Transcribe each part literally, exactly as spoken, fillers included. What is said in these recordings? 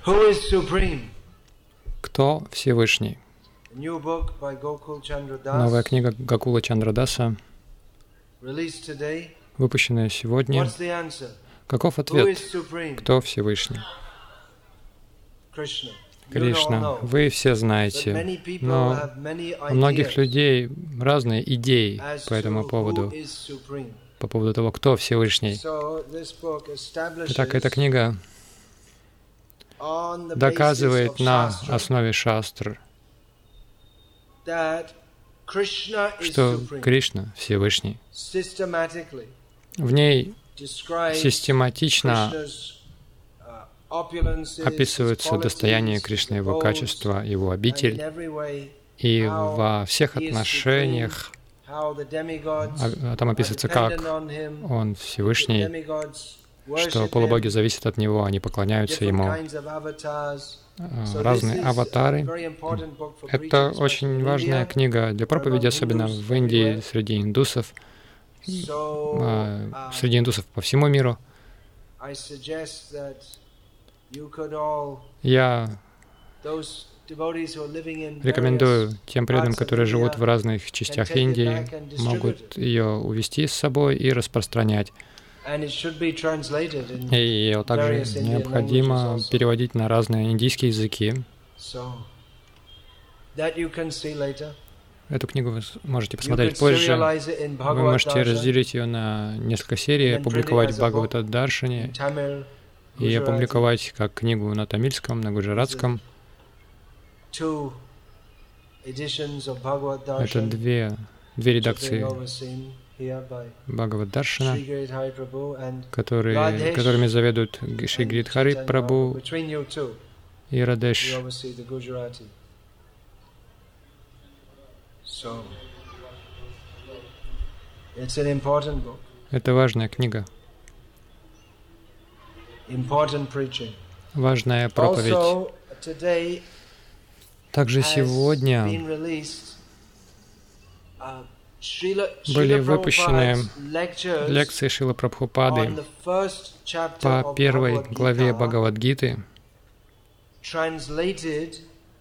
Who is supreme? Кто Всевышний? A new book by Gokul Chandra Das, Новая книга Гокула Чандрадаса, released today. выпущенная сегодня. What's the answer? Каков Who ответ? is supreme? Кто Всевышний? Krishna. You all Кришна. know. Вы все But знаете, many people но have many у многих ideas людей разные идеи as по этому to поводу, who is supreme. по поводу того, кто Всевышний. So this book Итак, эта establishes книга on the basis доказывает of на Shastra основе шастр, that Krishna is что supreme. Кришна Всевышний. Systematically В ней describes систематично Krishna's uh, opulences, his описываются достояние qualities, Кришны, his его abodes, качества, его and in обитель, every way и how во всех he is отношениях how the demigods а там are описывается, как dependent on him, Он the Всевышний, demigods что worship полубоги him, зависят от Него, они поклоняются different Ему. kinds of avatars. А, So this Разные is a аватары. very important book for Это preaching, especially очень in важная India. книга для проповеди, особенно в Индии, среди индусов, So, а, uh, среди индусов по всему миру. I suggest that you could all, Я those devotees who are living in рекомендую various тем преданным, parts of которые живут India, в разных can частях take it Индии, back and distribute могут it. ее увезти с собой и распространять. And it should be translated in И ее также various Indian необходимо languages also. переводить на разные индийские языки. So that you can see later. Эту книгу вы можете You посмотреть could позже. serialize it in Вы Bhagavad можете Darshan, разделить ее на несколько серий, and then print it опубликовать as в a book Бхагавата in Даршане Tamil, и Gujarati. опубликовать как книгу на тамильском, на гуджаратском. Two editions of Bhagavad Это Darshan, две, две which are being редакции overseen here by Бхагават Даршана, Sri Giridhari Prabhu and которые, Radhesh которыми заведуют Шри and Гиридхари Chaitanya Прабху Prabhu. Between you two, и you Радеш. oversee the Gujarati. So it's an important book, Это важная книга, important preaching. важная проповедь. Also, today Также has сегодня been released, uh, Srila, были Srila выпущены Prabhupada's lectures лекции Шрилы on Прабхупады the first chapter по of первой Bhagavad главе Gita, Бхагавад-гиты, translated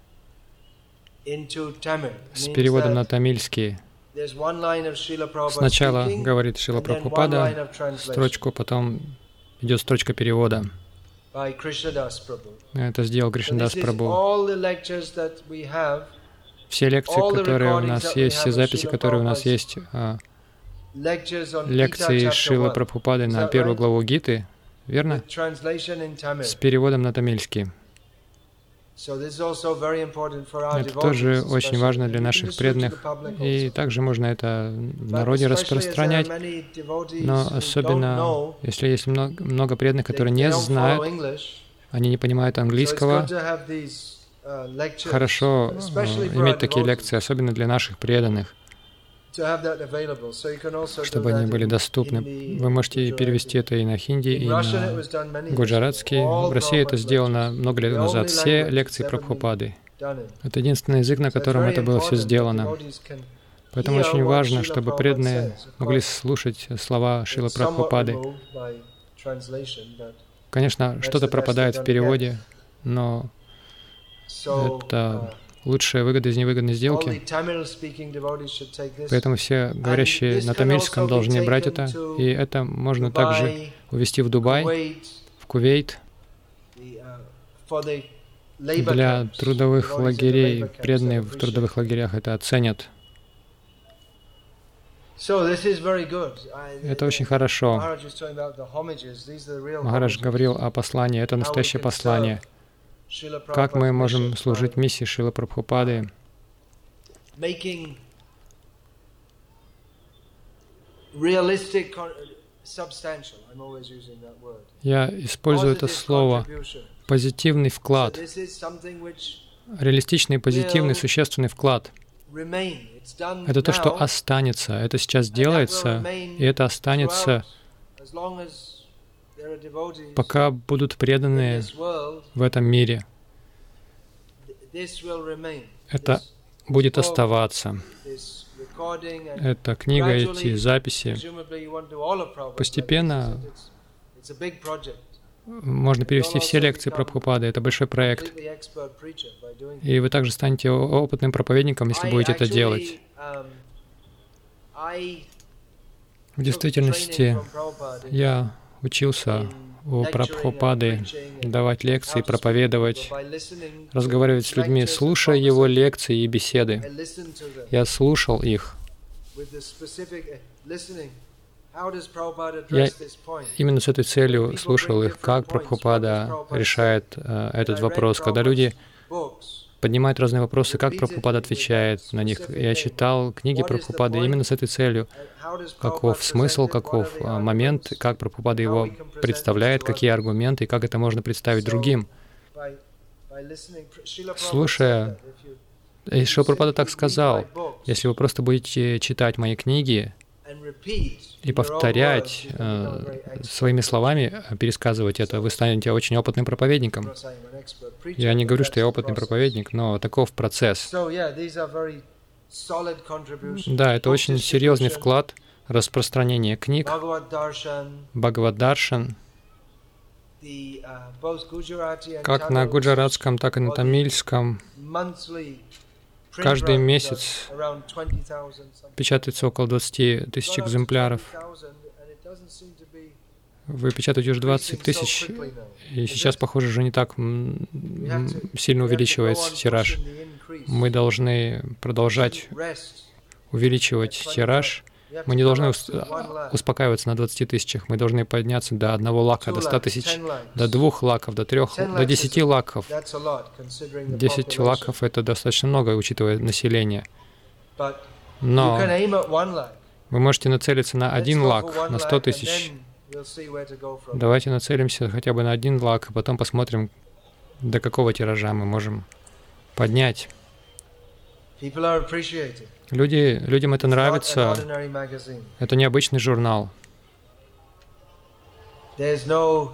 into Tamil. с Means переводом на that тамильский. there's one line of Srila Prabhupada Сначала speaking, говорит Шрила and then one line Прабхупада of translation строчку, потом идет строчка перевода. by Krishnadas Prabhu. Это сделал So Кришнадас this is Прабху. all the lectures that we have, Все лекции, all the которые у recordings нас that we есть, все have of записи, Srila которые у нас Prabhupada's есть, а, lectures on Gita лекции chapter Шрилы one, Прабхупады Is на that первую right? главу Гиты, верно? with translation in Tamil. С переводом на тамильский. So this is also very important for our Это devotees, тоже очень especially. важно And для you can наших distribute to преданных, the public и also. также можно это в But народе especially as there are распространять. many devotees Но who don't особенно, know, если есть много, много преданных, they, которые they не don't follow знают, English, они не понимают so it's английского, good to have these uh, lectures, хорошо э, especially for our иметь такие devotees, лекции, особенно для наших преданных, to have that available. So you can also do чтобы они that были in доступны. Hindi, Вы можете Gujarati. перевести это и на хинди, и In Russian it на was done many years ago. гуджаратский. All В России это Prabhupada's сделано lectures, много лет the назад. only Все language лекции that's ever Прабхупады. done it. Это единственный язык, на So it's котором very это было все important that сделано. devotees can Поэтому hear очень what важно, Srila чтобы Prabhupada преданные says. Of могли course, слушать слова Шрилы it's somewhat Прабхупады. removed by translation, but Конечно, that's что-то the best пропадает they're в gonna переводе, но so это uh, лучшая выгода из невыгодной all сделки. the Tamil-speaking devotees should take this. Поэтому все говорящие this на can тамильском also be должны брать taken это. to И это можно также Dubai, увезти в Дубай, Kuwait, в Кувейт, the, uh, for the labor для camps. трудовых Devotees in the лагерей. labor camps Преданные that в appreciate. трудовых лагерях это оценят. So this is very good. I- Это очень хорошо. Maharaj was talking about the homages. These are the real Махарадж homages. говорил о послании. Это How we настоящее can послание. serve Srila Как мы Prabhupada's можем mission служить by миссии Шрилы Прабхупады, making realistic, con- substantial. I'm always using that word. Я использую это Positive слово contribution. «позитивный So вклад», this is something which реалистичный, позитивный, will существенный вклад. remain. It's done Это то, что now, останется. Это сейчас and that will делается, remain и это останется, throughout, as long as there are devotees пока будут in преданные this world. в этом мире. This will remain. Это This будет book, оставаться. this recording, and Эта книга, эти gradually, записи presumably you want to do all of Prabhupada's постепенно lectures. It's, it's a big project. можно перевести все лекции Прабхупады. Это большой проект. И вы также станете опытным проповедником, если будете это делать. В действительности, я учился у Прабхупады давать лекции, проповедовать, разговаривать с людьми, слушая его лекции и беседы. Я слушал их. Я именно с этой целью слушал их, как Прабхупада решает э, этот вопрос. Когда люди поднимают разные вопросы, как Прабхупада отвечает на них. Я читал книги Прабхупады именно с этой целью. Каков смысл, каков э, момент, как Прабхупада его представляет, какие аргументы, и как это можно представить другим. Слушая, и Шрила Прабхупада так сказал, если вы просто будете читать мои книги, и повторять э, своими словами, пересказывать это, вы станете очень опытным проповедником. Я не говорю, что я опытный проповедник, но таков процесс. Да, это очень серьезный вклад распространения книг, Бхагавад-даршан, как на гуджаратском, так и на тамильском. Каждый месяц печатается около двадцати тысяч экземпляров. Вы печатаете уже двадцать тысяч, и сейчас, похоже, уже не так сильно увеличивается тираж. Мы должны продолжать увеличивать тираж. Мы не должны успокаиваться на двадцати тысячах. Мы должны подняться до одного лака, до ста тысяч, до двух лаков, до трех, до десяти лаков. Десять лаков — это достаточно много, учитывая население. Но вы можете нацелиться на один лак, на сто тысяч. Давайте нацелимся хотя бы на один лак, а потом посмотрим, до какого тиража мы можем поднять. Люди, людям это нравится. Это необычный журнал. Здесь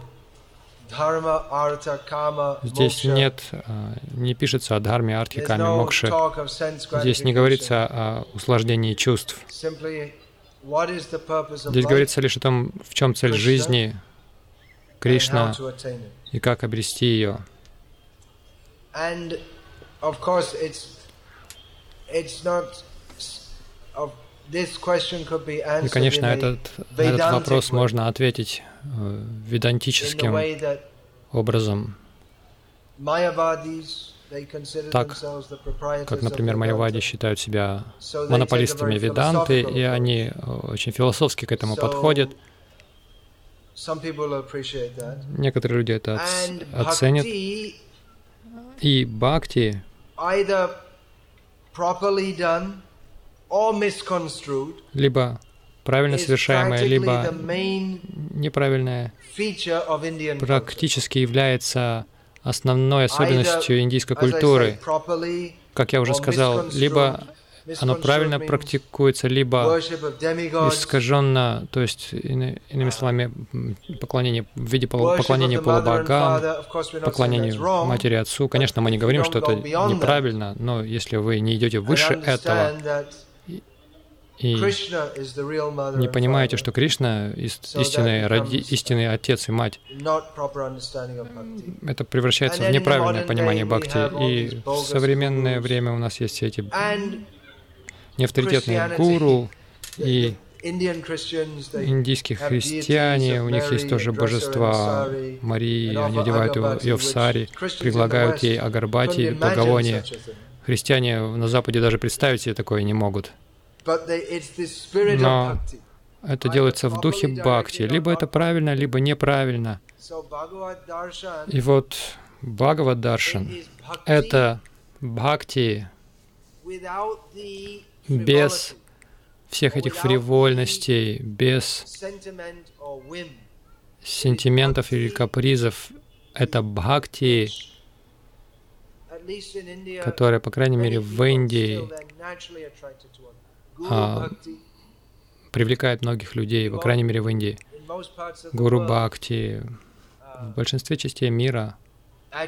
нет, не пишется о дхарме, арте, каме, мокше. Здесь не говорится о усложнении чувств. Здесь говорится лишь о том, в чем цель жизни, Кришна, и как обрести ее. И, конечно, этот, на этот вопрос можно ответить э, ведантическим образом. Так, как, например, майявади считают себя монополистами веданты, и они очень философски к этому подходят. Некоторые люди это оценят. И бхакти, либо правильно совершаемое, либо неправильное, практически является основной особенностью индийской культуры. Как я уже сказал, либо оно правильно практикуется, либо искаженно, то есть, иными словами, поклонение в виде поклонения полубогам, поклонению матери и отцу. Конечно, мы не говорим, что это неправильно, но если вы не идете выше этого и не понимаете, что Кришна истинный, роди, истинный отец и мать, это превращается в неправильное понимание бхакти. И в современное время у нас есть все эти неавторитетные гуру и индийские христиане, у них есть тоже божества Марии, они одевают ее в сари, предлагают ей агарбати, благовония. Христиане на Западе даже представить себе такое не могут. Но это делается в духе бхакти. Либо это правильно, либо неправильно. И вот Бхагавад-даршан — это бхакти без всех этих фривольностей, без сентиментов или капризов. Это бхакти, которая, по крайней мере, в Индии а, привлекает многих людей, по крайней мере, в Индии. Гуру бхакти в большинстве частей мира. На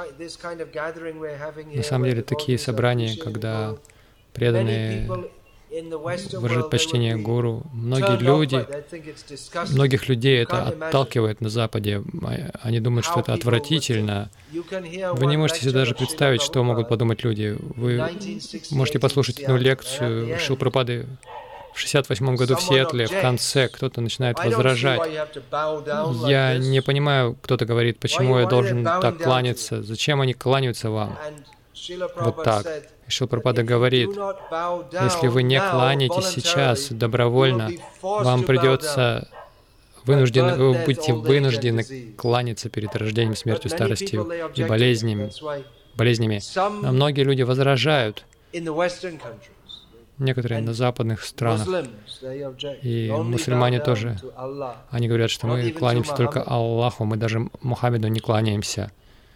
самом деле, такие собрания, когда преданные выражать почтение гуру. Многие люди, многих людей это отталкивает на Западе. Они думают, что это отвратительно. Вы не можете себе даже представить, что могут подумать люди. Вы можете послушать одну лекцию Шрилы Прабхупады в шестьдесят восьмом году в Сиэтле, в конце кто-то начинает возражать. Я не понимаю, кто-то говорит, почему я должен так кланяться, зачем они кланяются вам вот так. И Шрила Прабхупада говорит, если вы не кланяетесь сейчас добровольно, вам придется вынуждены, вы будете вынуждены кланяться перед рождением, смертью, старостью и болезнями. болезнями. Но многие люди возражают, некоторые на западных странах, и мусульмане тоже. Они говорят, что мы кланяемся только Аллаху, мы даже Мухаммеду не кланяемся.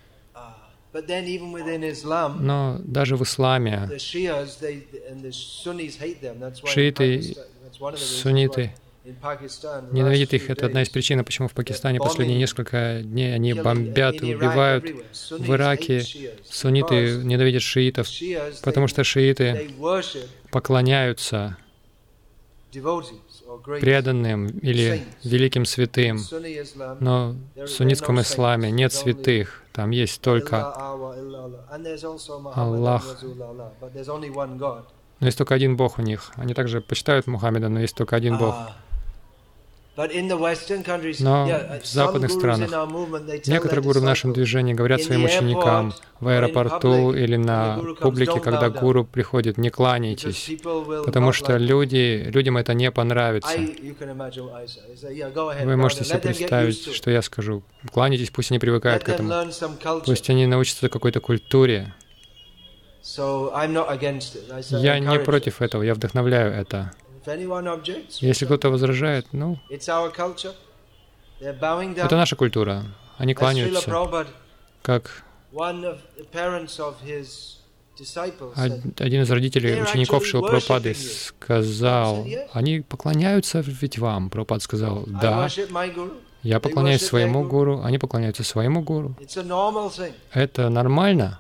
Но даже в исламе шииты, сунниты ненавидят их. Это одна из причин, почему в Пакистане последние несколько дней они бомбят и убивают. В Ираке сунниты ненавидят шиитов, потому что шииты поклоняются преданным или великим святым. Но в суннитском исламе нет святых, там есть только Аллах. Но есть только один Бог у них. Они также почитают Мухаммеда, но есть только один Бог. Но в западных странах некоторые гуру в нашем движении говорят своим ученикам в аэропорту или на публике, когда гуру приходит, не кланяйтесь, потому что люди, людям это не понравится. Вы можете себе представить, что я скажу. Кланяйтесь, пусть они привыкают к этому. Пусть они научатся какой-то культуре. Я не против этого, я вдохновляю это. Если кто-то возражает, ну, это наша культура. Они кланяются. Как один из родителей, учеников Шрилы Прабхупады сказал, они поклоняются ведь вам. Прабхупада сказал, да, я поклоняюсь своему гуру, они поклоняются своему гуру. Это нормально.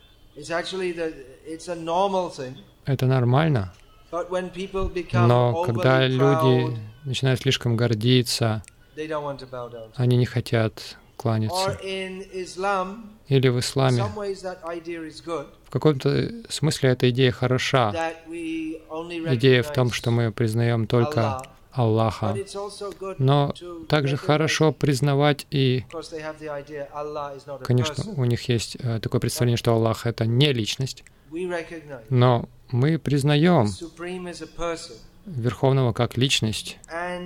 Это нормально. Но когда люди начинают слишком гордиться, они не хотят кланяться. Или в исламе, в каком-то смысле эта идея хороша. Идея в том, что мы признаем только Аллаха. Но также хорошо признавать и, конечно, у них есть такое представление, что Аллах — это не личность, но мы признаем Верховного как личность,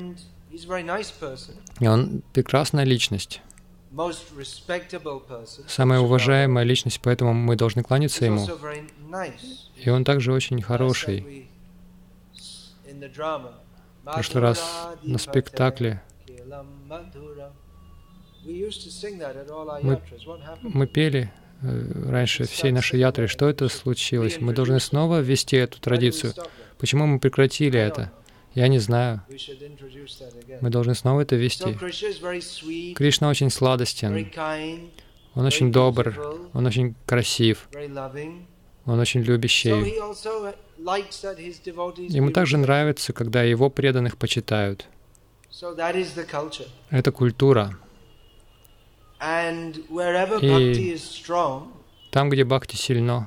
и Он прекрасная личность, самая уважаемая личность, поэтому мы должны кланяться Ему. И Он также очень хороший. В прошлый раз на спектакле мы, мы пели раньше всей нашей ятры. Что это случилось? Мы должны снова ввести эту традицию. Почему мы прекратили это? Я не знаю. Мы должны снова это ввести. Кришна очень сладостен. Он очень добр. Он очень красив. Он очень любящий. Ему также нравится, когда его преданных почитают. Это культура. И там, где бхакти сильно,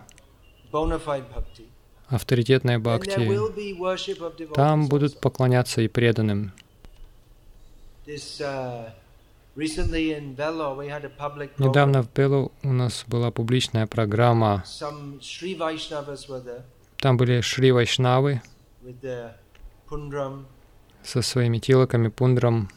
авторитетная бхакти, там будут поклоняться и преданным. Недавно в Белу у нас была публичная программа. Там были Шри Вайшнавы со своими тилаками, пундром.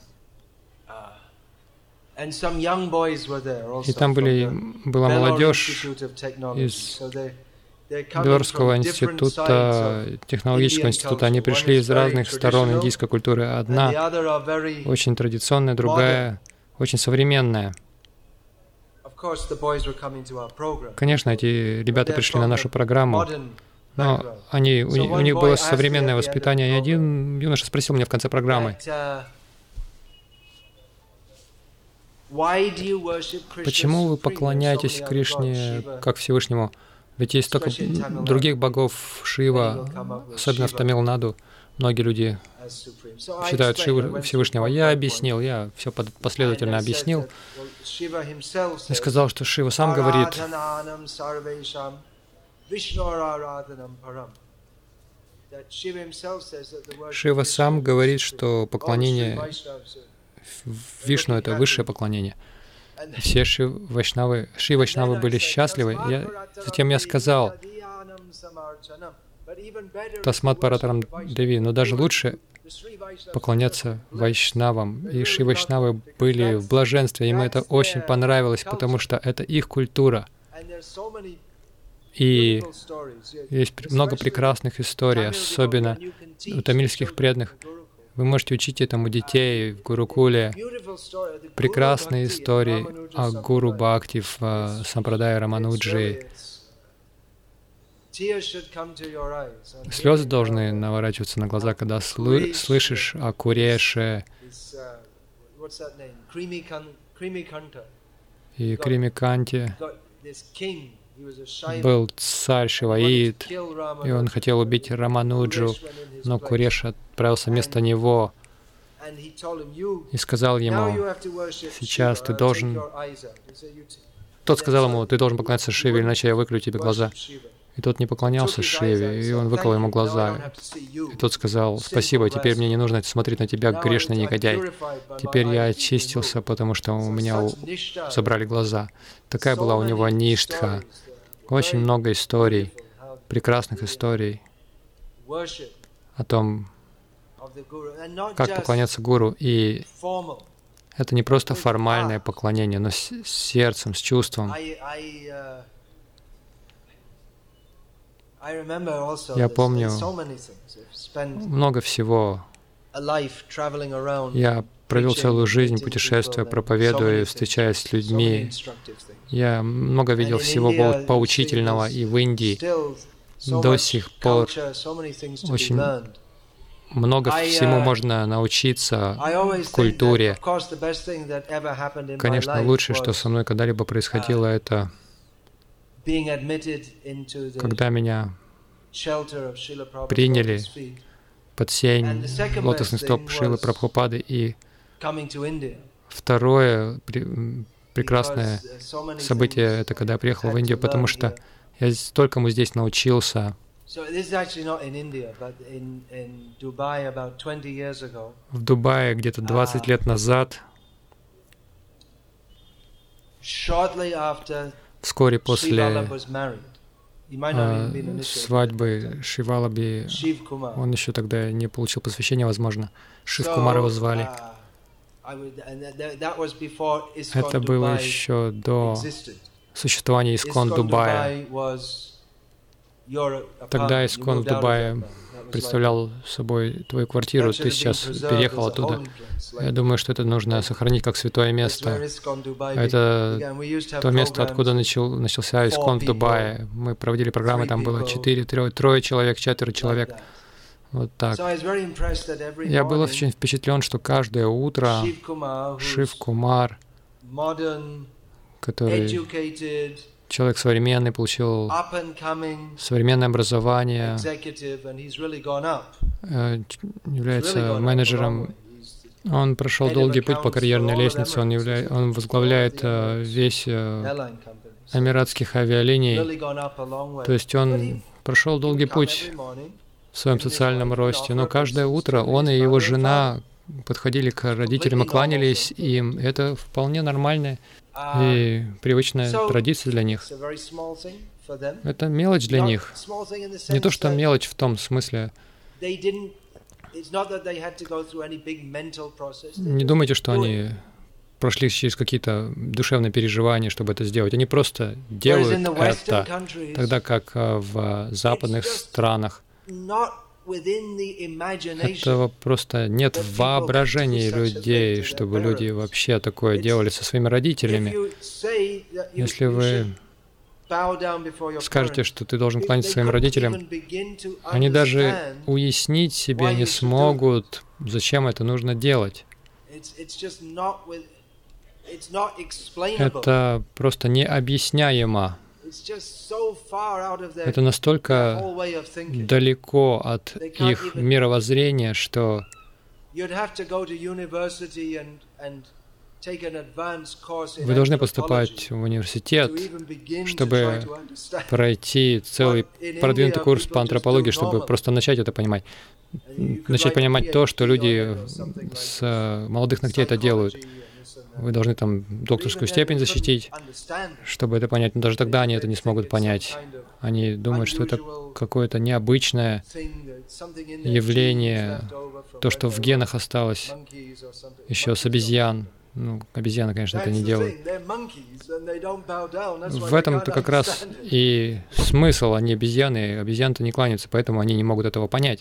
И там были, была молодежь из Белорусского института, технологического института. Они пришли из разных сторон индийской культуры. Одна очень традиционная, другая очень современная. Конечно, эти ребята пришли на нашу программу, но они, у, у них было современное воспитание. И один юноша спросил меня в конце программы, почему вы поклоняетесь Кришне как Всевышнему? Ведь есть столько других богов, Шива, особенно в Тамил-Наду. Многие люди считают Шиву Всевышнего. Я объяснил, я все последовательно объяснил. И сказал, что Шива сам говорит, Шива сам говорит, что поклонение Вишну — это высшее поклонение. Все Ши Вайшнавы, Ши Вайшнавы были счастливы. Я, затем я сказал, Тасмат Паратарам Деви, но даже лучше поклоняться Вайшнавам. И Ши Вайшнавы были в блаженстве, им это очень понравилось, потому что это их культура. И есть много прекрасных историй, особенно у тамильских преданных. Вы можете учить этому детей в Гурукуле. Прекрасные истории о Гуру Бхакти в uh, Сампрадае Рамануджи. Слезы должны наворачиваться на глаза, когда слы слышишь о Куреше и Кримиканте. Был царь Шиваид, и он хотел убить Рамануджу, но Куреш отправился вместо него и сказал ему, сейчас ты должен... Тот сказал ему, ты должен поклоняться Шиве, иначе я выклюю тебе глаза. И тот не поклонялся Шиве, и он выколол ему глаза. И тот сказал, спасибо, теперь мне не нужно смотреть на тебя, грешный негодяй. Теперь я очистился, потому что у меня забрали глаза. Такая была у него ништха. Очень много историй, прекрасных историй о том, как поклоняться Гуру. И это не просто формальное поклонение, но с сердцем, с чувством. Я помню много всего. Я провел целую жизнь, путешествуя, проповедуя, встречаясь с людьми. Я много видел всего поучительного, и в Индии до сих пор очень много всему можно научиться в культуре. Конечно, лучшее, что со мной когда-либо происходило, это когда меня приняли под сень лотосных стоп Шрилы Прабхупады. И второе прекрасное событие — это когда я приехал в Индию, потому что я столькому здесь научился. В Дубае где-то двадцать лет назад, вскоре после э, свадьбы Шивалаби, он еще тогда не получил посвящения, возможно. Шив-Кумар его звали. Это было еще до существования Искон Дубая. Тогда Искон в Дубае представлял собой твою квартиру, ты сейчас переехал оттуда. Я думаю, что это нужно сохранить как святое место. Это то место, откуда начал, начался Искон в Дубае. Мы проводили программы, там было четыре, трое, трое человек, четверо человек. Вот так. Я был очень впечатлен, что каждое утро Шив-Кумар, который человек современный, получил современное образование, является менеджером. Он прошел долгий путь по карьерной лестнице, он, явля... он возглавляет весь эмиратских авиалиний. То есть он прошел долгий путь в своем социальном росте, но каждое утро он и его жена подходили к родителям и кланялись им. Это вполне нормальная и привычная традиция для них. Это мелочь для них. Не то, что мелочь в том смысле. Не думайте, что они прошли через какие-то душевные переживания, чтобы это сделать. Они просто делают это, тогда как в западных странах этого просто нет в воображении людей, чтобы люди вообще такое делали со своими родителями. Если вы скажете, что ты должен кланяться своим родителям, они даже уяснить себе не смогут, зачем это нужно делать. Это просто необъясняемо. это настолько далеко от их мировоззрения, что вы должны поступать в университет, чтобы пройти целый продвинутый курс по антропологии, чтобы просто начать это понимать. Начать понимать то, что люди с молодых ногтей это делают. Вы должны там докторскую степень защитить, чтобы это понять. Но даже тогда они это не смогут понять. Они думают, что это какое-то необычное явление, то, что в генах осталось еще с обезьян. Ну, обезьяны, конечно, это не делают. В этом-то как раз и смысл, они обезьяны, обезьяны-то не кланяются, поэтому они не могут этого понять.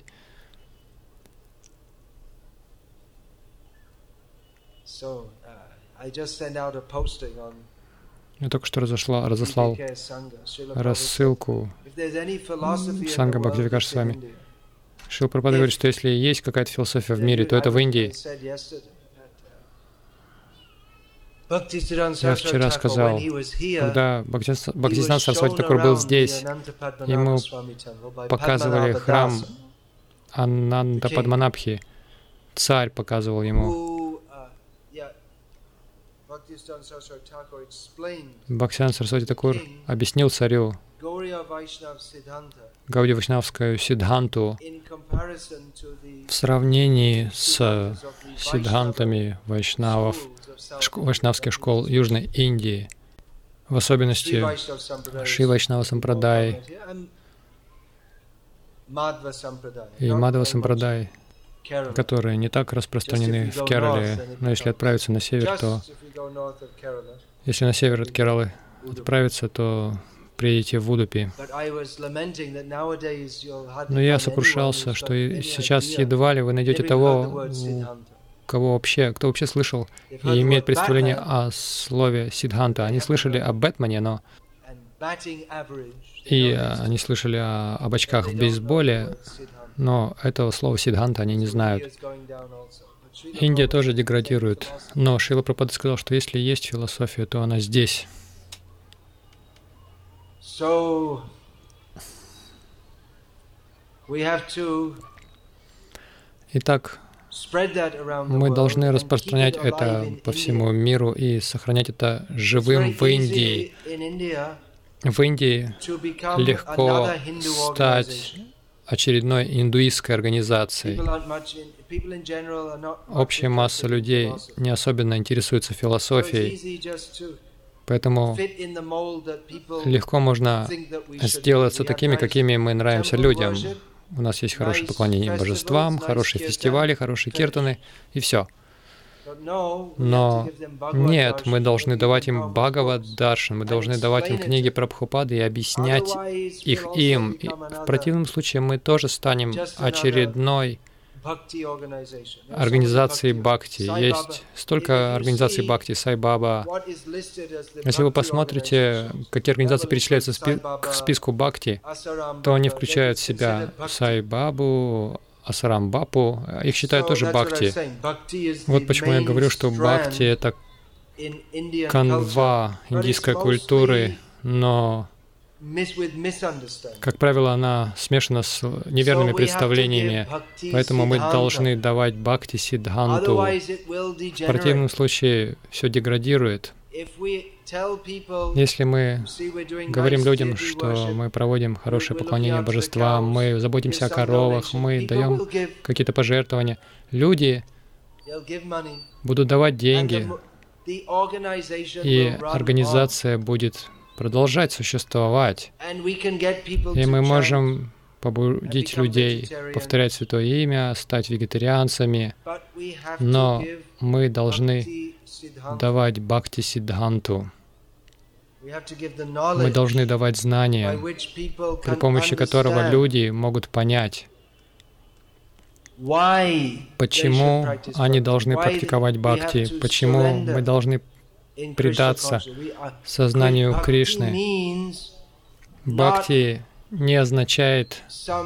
Я только что разошла, разослал рассылку Санга Бхактивикаш с вами. Шрила Прабхупада говорит, что если есть какая-то философия в мире, то это в Индии. Я вчера сказал, когда Бхактисиданта Сарасвати Такур был здесь, ему показывали храм Ананда Падманабхи, царь показывал ему. Бхактисиданта Сарасвати Такур объяснил царю Гаудия Вайшнавскую Сиддханту в сравнении с сиддхантами вайшнавов, вайшнавских школ Южной Индии, в особенности Шри Вайшнава Сампрадай и Мадхава Сампрадай, которые не так распространены в Керале, но если отправиться на север, то если на север от Кералы отправиться, то приедете в Удупи. Но я сокрушался, что сейчас едва ли вы найдете того, кого вообще, кто вообще слышал и имеет представление о слове Сиддханта. Они слышали о Бэтмене, но и они слышали о, об очках в бейсболе, но этого слова Сиддханта они не знают. Индия тоже деградирует, но Шрила Прабхупада сказал, что если есть философия, то она здесь. Итак, мы должны распространять это по всему миру и сохранять это живым в Индии. В Индии легко стать очередной индуистской организацией. Общая масса людей не особенно интересуется философией, поэтому легко можно сделаться такими, какими мы нравимся людям. У нас есть хорошее поклонение божествам, хорошие фестивали, хорошие киртаны, и все. Но нет, мы должны давать им Бхагавад-даршан, мы должны давать им книги Прабхупады и объяснять их им. И в противном случае мы тоже станем очередной организацией бхакти. Есть столько организаций бхакти, Сай-Баба. Если вы посмотрите, какие организации перечисляются к списку бхакти, то они включают в себя Сай-Бабу, Асарам-Бапу, их считают тоже бхакти. Вот почему я говорю, что бхакти — это канва индийской культуры, но, как правило, она смешана с неверными представлениями, поэтому мы должны давать бхакти сиддханту. В противном случае все деградирует. Если мы говорим людям, что мы проводим хорошее поклонение божествам, мы заботимся о коровах, мы даем какие-то пожертвования, люди будут давать деньги, и организация будет продолжать существовать. И мы можем побудить людей повторять Святое Имя, стать вегетарианцами, но мы должны давать бхакти сиддханту. Мы должны давать знания, при помощи которого люди могут понять, почему они должны практиковать бхакти, почему мы должны предаться сознанию Кришны. Бхакти не означает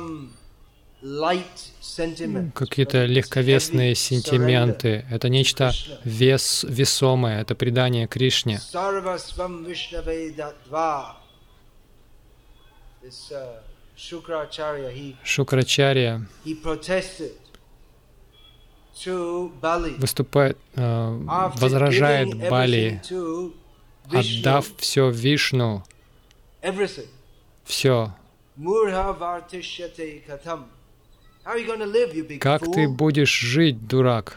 какие-то легковесные сентименты. Это нечто вес, весомое, это предание Кришне. Шукрачарья выступает, э, возражает Бали, отдав все Вишну, все. Как ты будешь жить, дурак?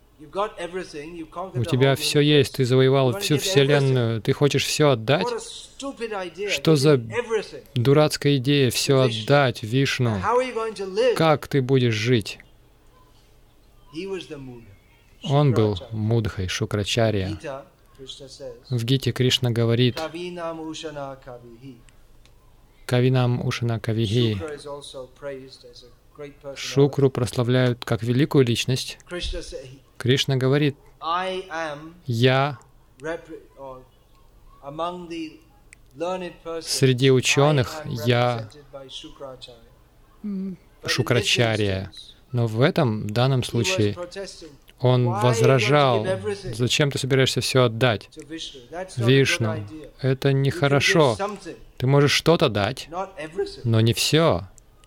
У тебя все есть, ты завоевал всю Вселенную, ты хочешь все отдать? Что за дурацкая идея все отдать Вишну? Как ты будешь жить? Он был Мудхой, Шукрачарья. В Гите Кришна говорит: Кавинам Ушана Кавихи. Шукру прославляют как великую личность. Кришна говорит: «Я среди ученых, я Шукрачарья». Но в этом данном случае он возражал: «Зачем ты собираешься все отдать Вишну? Это нехорошо. Ты можешь что-то дать, но не все».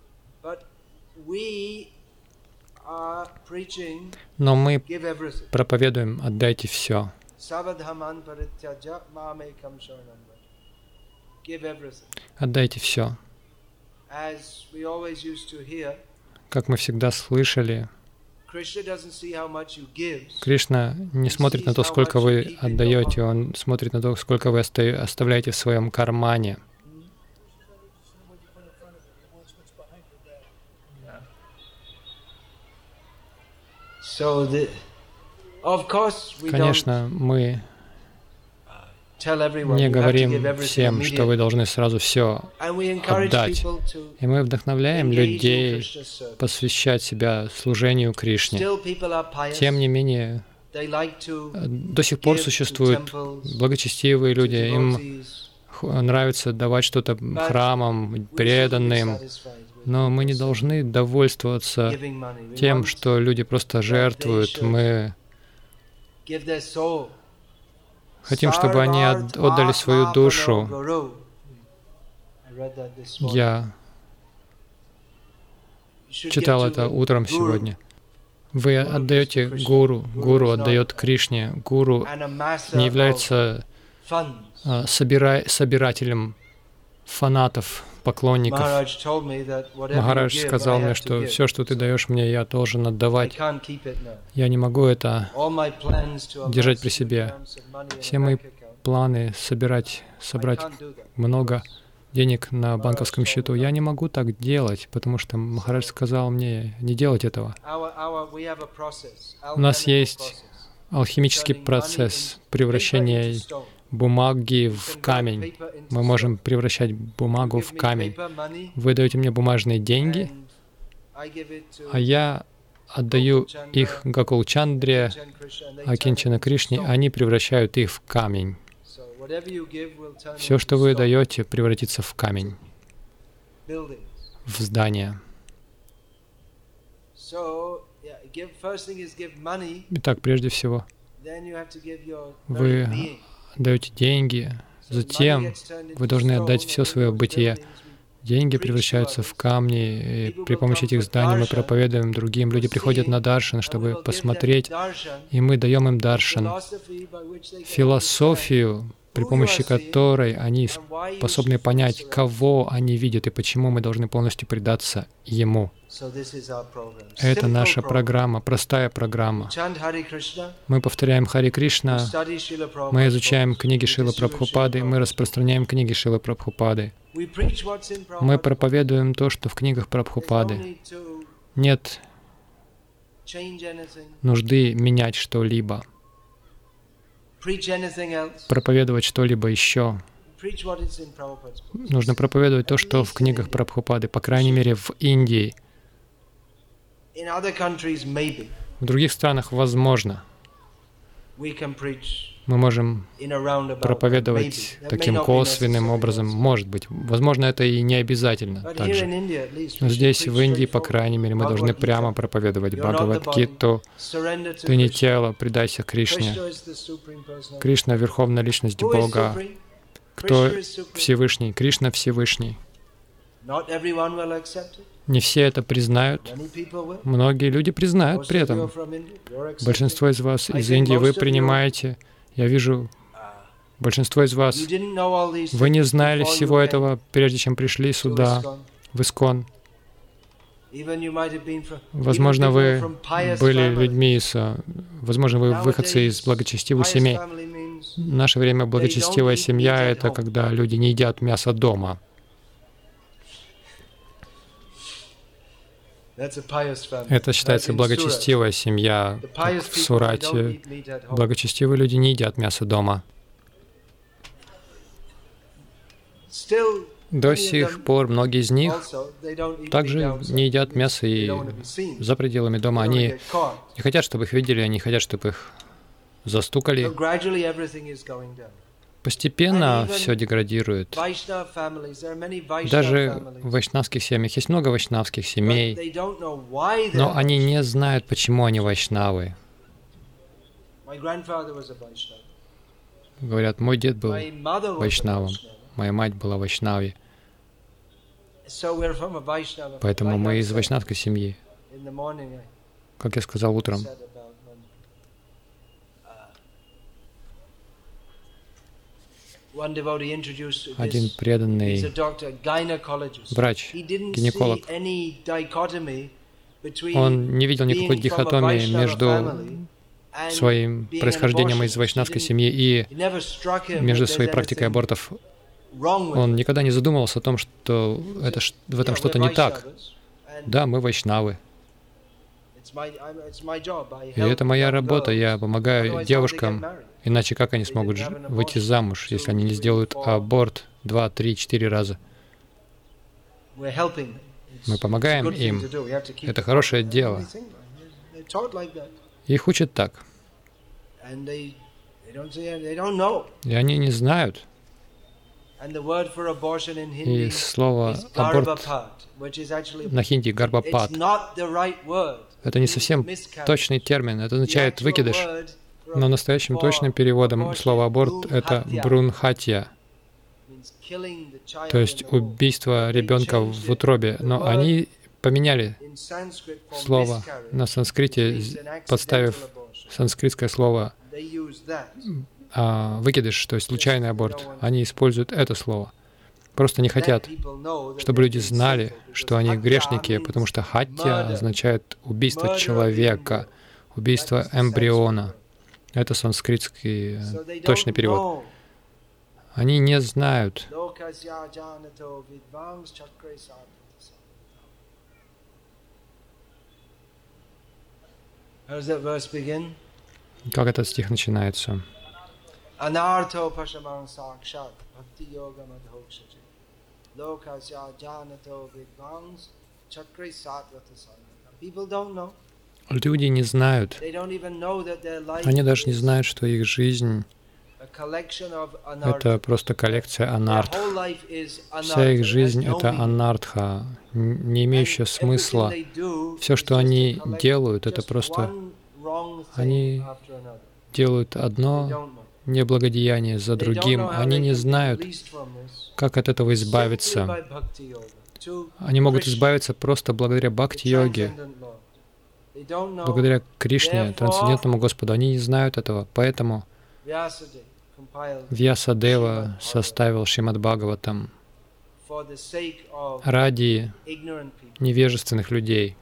Но мы проповедуем: отдайте все. Отдайте все. Как мы всегда слышали, Кришна не смотрит на то, сколько вы отдаете, Он смотрит на то, сколько вы оставляете в своем кармане. Конечно, мы не говорим всем, что вы должны сразу все отдать. И мы вдохновляем людей посвящать себя служению Кришне. Тем не менее, до сих пор существуют благочестивые люди. Им нравится давать что-то храмам, преданным. Но мы не должны довольствоваться тем, что люди просто жертвуют. Мы хотим, чтобы они отдали свою душу. Я читал это утром сегодня. Вы отдаете гуру, гуру отдает Кришне. Гуру не является а, собира... собирателем фанатов, поклонников. Махарадж сказал мне, что все, что ты даешь мне, я должен отдавать. Я не могу это держать при себе. Все мои планы собирать, собрать много денег на банковском счету, я не могу так делать, потому что Махарадж сказал мне не делать этого. У нас есть алхимический процесс превращения бумаги в камень. Мы можем превращать бумагу в камень. Вы даете мне бумажные деньги, а я отдаю их Гакул-чандре, Акинчана Кришне, они превращают их в камень. Все, что вы даете, превратится в камень, в здание. Итак, прежде всего, вы даете деньги, затем вы должны отдать все свое бытие. Деньги превращаются в камни, и при помощи этих зданий мы проповедуем другим. Люди приходят на даршан, чтобы посмотреть, и мы даем им даршан, философию, при помощи которой они способны понять, кого они видят и почему мы должны полностью предаться Ему. Это наша программа, простая программа. Мы повторяем Хари Кришна, мы изучаем книги Шрилы Прабхупады, мы распространяем книги Шрилы Прабхупады. Мы проповедуем то, что в книгах Прабхупады. Нет нужды менять что-либо, проповедовать что-либо еще. Нужно проповедовать то, что в книгах Прабхупады, по крайней мере, в Индии. В других странах возможно. Мы можем проповедовать таким косвенным образом. Может быть. Возможно, это и не обязательно также. Но здесь, в Индии, по крайней мере, мы должны прямо проповедовать Бхагавад-гиту. Ты не тело, предайся Кришне. Кришна — Верховная Личность Бога. Кто Всевышний? Кришна Всевышний. Не все это признают. Многие люди признают при этом. Большинство из вас из Индии, вы принимаете. Я вижу, большинство из вас, вы не знали всего этого, прежде чем пришли сюда, в Искон. Возможно, вы были людьми из... Возможно, вы выходцы из благочестивых семей. В наше время благочестивая семья — это когда люди не едят мясо дома. Это считается благочестивая семья, как в Сурате. Благочестивые люди не едят мясо дома. До сих пор многие из них также не едят мясо и за пределами дома. Они не хотят, чтобы их видели, они хотят, чтобы их застукали. Постепенно все деградирует. Даже в вайшнавских семьях есть много вайшнавских семей, но они не знают, почему они вайшнавы. Говорят, мой дед был вайшнавом, моя мать была вайшнави. Поэтому мы из вайшнавской семьи. Как я сказал утром, один преданный врач, гинеколог, он не видел никакой дихотомии между своим происхождением из вайшнавской семьи и между своей практикой абортов. Он никогда не задумывался о том, что это, в этом что-то не так. Да, мы вайшнавы. И это моя работа. Я помогаю девушкам, иначе как они смогут выйти замуж, если они не сделают аборт два, три, четыре раза? Мы помогаем им. Это хорошее дело. Их учат так. И они не знают. И слово «аборт» на хинди «гарбапат» — это не совсем точный термин, это означает «выкидыш». Но настоящим точным переводом слова «аборт» — это «брунхатья», то есть убийство ребенка в утробе. Но они поменяли слово на санскрите, подставив санскритское слово а, «выкидыш», то есть случайный аборт. Они используют это слово. Просто не хотят, чтобы люди знали, что они грешники, потому что «хатья» означает убийство человека, убийство эмбриона. Это санскритский точный перевод. Они не знают. Как этот стих начинается? Люди не знают. Они даже не знают, что их жизнь — это просто коллекция анартх. Вся их жизнь — это анартха, не имеющая смысла. Все, что они делают, это просто... Они делают одно неблагодеяние за другим. Они не знают, как от этого избавиться. Они могут избавиться просто благодаря бхакти-йоге, благодаря Кришне, трансцендентному Господу. Они не знают этого, поэтому Вьясадева составил Шримад Бхагаватам ради невежественных людей.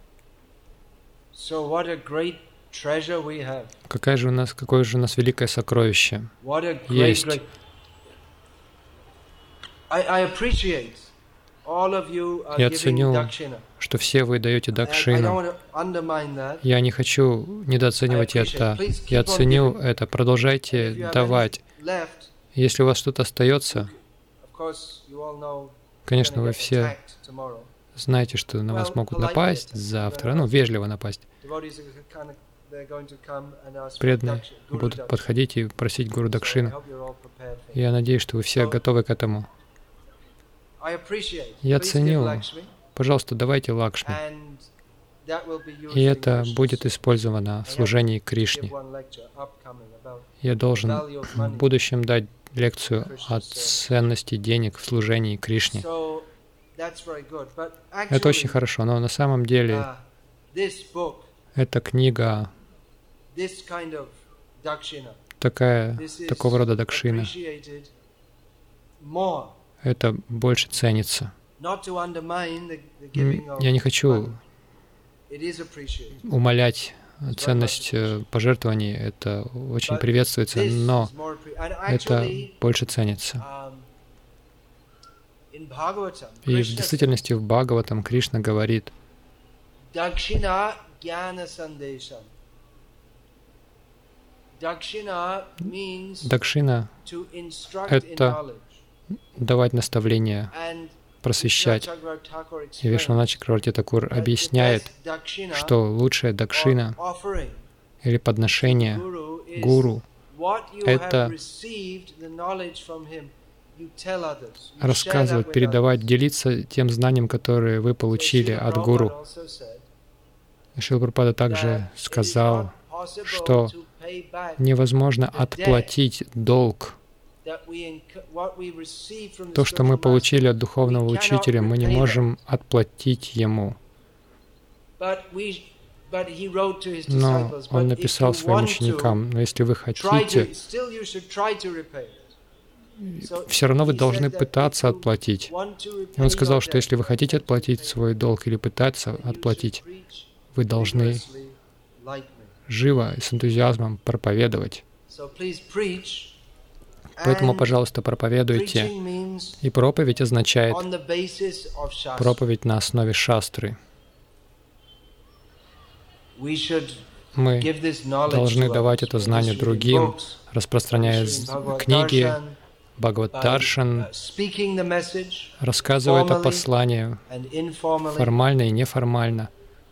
Какая же у нас, какое же у нас великое сокровище есть. Я ценю, что все вы даете дакшину. Я не хочу недооценивать это. Я ценю это. Продолжайте давать. Если у вас что-то остается, конечно, вы все знаете, что на вас могут напасть завтра, ну, вежливо напасть. Преданные будут подходить и просить Гуру Дакшину. Я надеюсь, что вы все готовы к этому. Я ценю. Пожалуйста, давайте Лакшми. И это будет использовано в служении Кришне. Я должен в будущем дать лекцию о ценности денег в служении Кришне. Это очень хорошо, но на самом деле эта книга такая, такого рода дакшина, это больше ценится. Я не хочу умалять ценность пожертвований, это очень приветствуется, но это больше ценится. И в действительности в Бхагаватам Кришна говорит: Дакшина — это давать наставления, просвещать. И Вишванатха Чакраварти Такур объясняет, что лучшая дакшина или подношение гуру — это рассказывать, передавать, делиться тем знанием, которое вы получили от гуру. Шрила Прабхупада также сказал, что невозможно отплатить долг. То, что мы получили от духовного учителя, мы не можем отплатить ему. Но он написал своим ученикам: но если вы хотите, все равно вы должны пытаться отплатить. И он сказал, что если вы хотите отплатить свой долг или пытаться отплатить, вы должны живо и с энтузиазмом проповедовать. Поэтому, пожалуйста, проповедуйте. И проповедь означает проповедь на основе шастры. Мы должны давать это знание другим, распространяя книги, Бхагават-даршан, рассказывая это послание формально и неформально.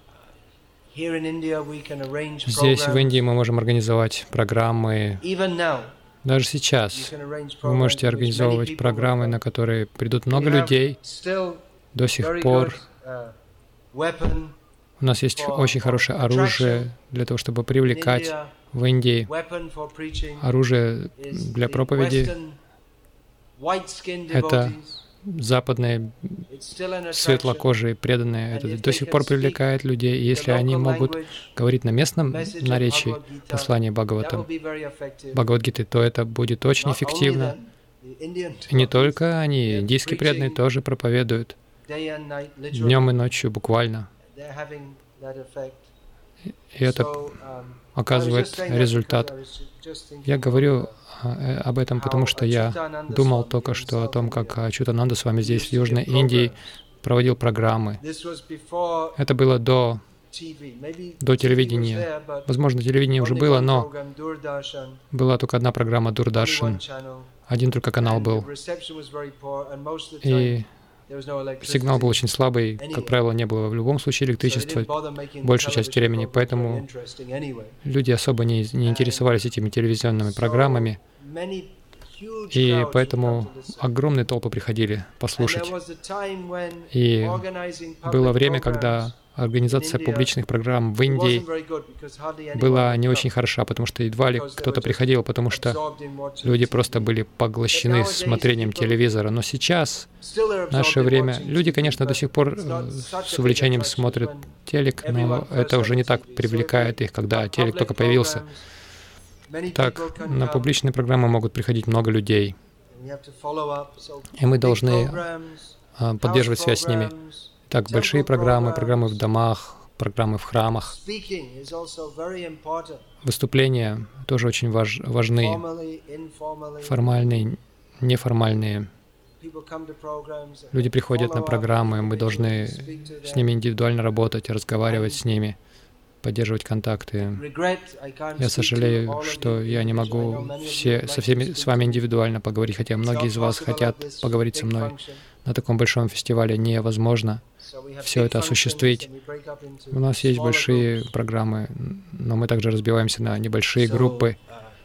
Здесь, в Индии, мы можем организовать программы. Даже сейчас вы можете организовывать программы, на которые придут много людей. До сих пор у нас есть очень хорошее оружие для того, чтобы привлекать в Индии. Оружие для проповеди — это западные светлокожие преданные. Это до сих пор привлекает людей. И если они могут говорить на местном наречии послания Бхагаватам, Бхагавад-гиты, то это будет очень эффективно. И не только они, индийские преданные тоже проповедуют днем и ночью буквально. И это оказывает результат. Я говорю об этом, потому что я думал только что о том, как Ачютананда с вами здесь, в Южной Индии, проводил программы. Это было до, до телевидения. Возможно, телевидение уже было, но была только одна программа Дурдаршан. Один только канал был. И сигнал был очень слабый, как правило, не было в любом случае электричества большую часть времени, поэтому люди особо не, не интересовались этими телевизионными программами, и поэтому огромные толпы приходили послушать. И было время, когда организация публичных программ в Индии была не очень хороша, потому что едва ли кто-то приходил, потому что люди просто были поглощены смотрением телевизора. Но сейчас, в наше время, люди, конечно, до сих пор с увлечением смотрят телек, но это уже не так привлекает их, когда телек только появился. Так, на публичные программы могут приходить много людей, и мы должны поддерживать связь с ними. Так, большие программы, программы в домах, программы в храмах. Выступления тоже очень важ, важны, формальные, неформальные. Люди приходят на программы, мы должны с ними индивидуально работать, разговаривать с ними, поддерживать контакты. Я сожалею, что я не могу все, со всеми с вами индивидуально поговорить, хотя многие из вас хотят поговорить со мной. На таком большом фестивале невозможно все это осуществить. У нас есть большие программы, но мы также разбиваемся на небольшие группы.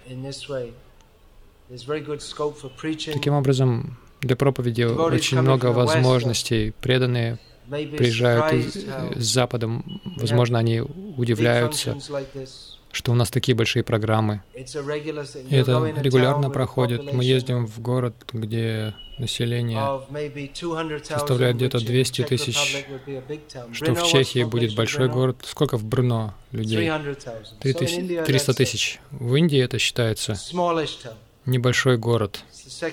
Таким образом, для проповеди очень много возможностей. Преданные приезжают из, с Запада, возможно, они удивляются. что у нас такие большие программы. И это регулярно проходит. Мы ездим в город, где население составляет где-то двести тысяч, что в Чехии будет большой город. Сколько в Брно людей? триста тысяч. В Индии это считается небольшой город.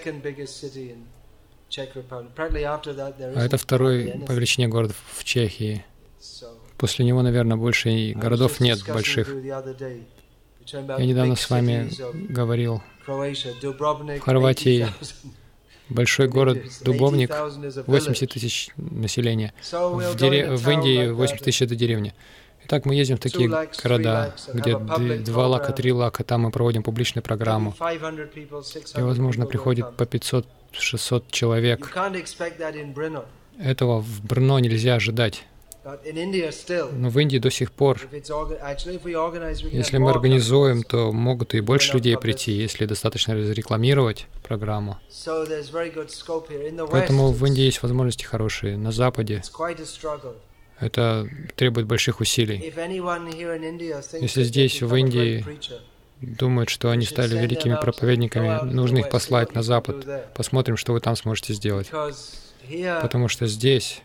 А это второй по величине город в Чехии. После него, наверное, больше и городов нет больших. Я недавно с вами говорил, в Хорватии большой город Дубовник, восемьдесят тысяч населения. В, дере... в Индии восемьдесят тысяч — это деревня. Итак, мы ездим в такие города, где два лака, три лака, там мы проводим публичную программу. И, возможно, приходит по пятьсот-шестьсот человек. Этого в Брно нельзя ожидать. Но в Индии до сих пор, если мы организуем, то могут и больше людей прийти, если достаточно разрекламировать программу. Поэтому в Индии есть возможности хорошие. На Западе это требует больших усилий. Если здесь, в Индии, думают, что они стали великими проповедниками, нужно их послать на Запад. Посмотрим, что вы там сможете сделать. Потому что здесь,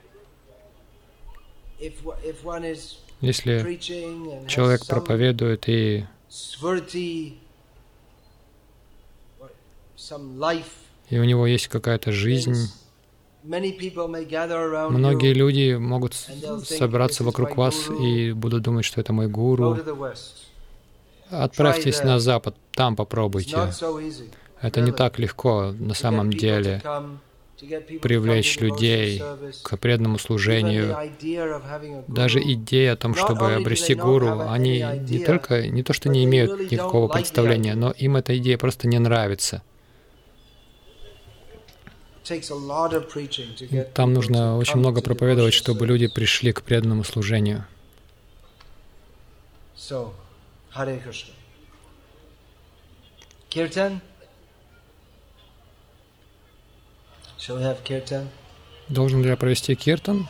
если человек проповедует и и у него есть какая-то жизнь, многие люди могут собраться вокруг вас и будут думать, что это мой гуру. Отправьтесь на Запад, там попробуйте. Это не так легко на самом деле. Привлечь людей к преданному служению. Даже идея о том, чтобы обрести гуру, они не только, не то что не имеют никакого представления, но им эта идея просто не нравится. Там нужно очень много проповедовать, чтобы люди пришли к преданному служению. Kirtan? Shall we have kirtan? Должен ли я провести киртан?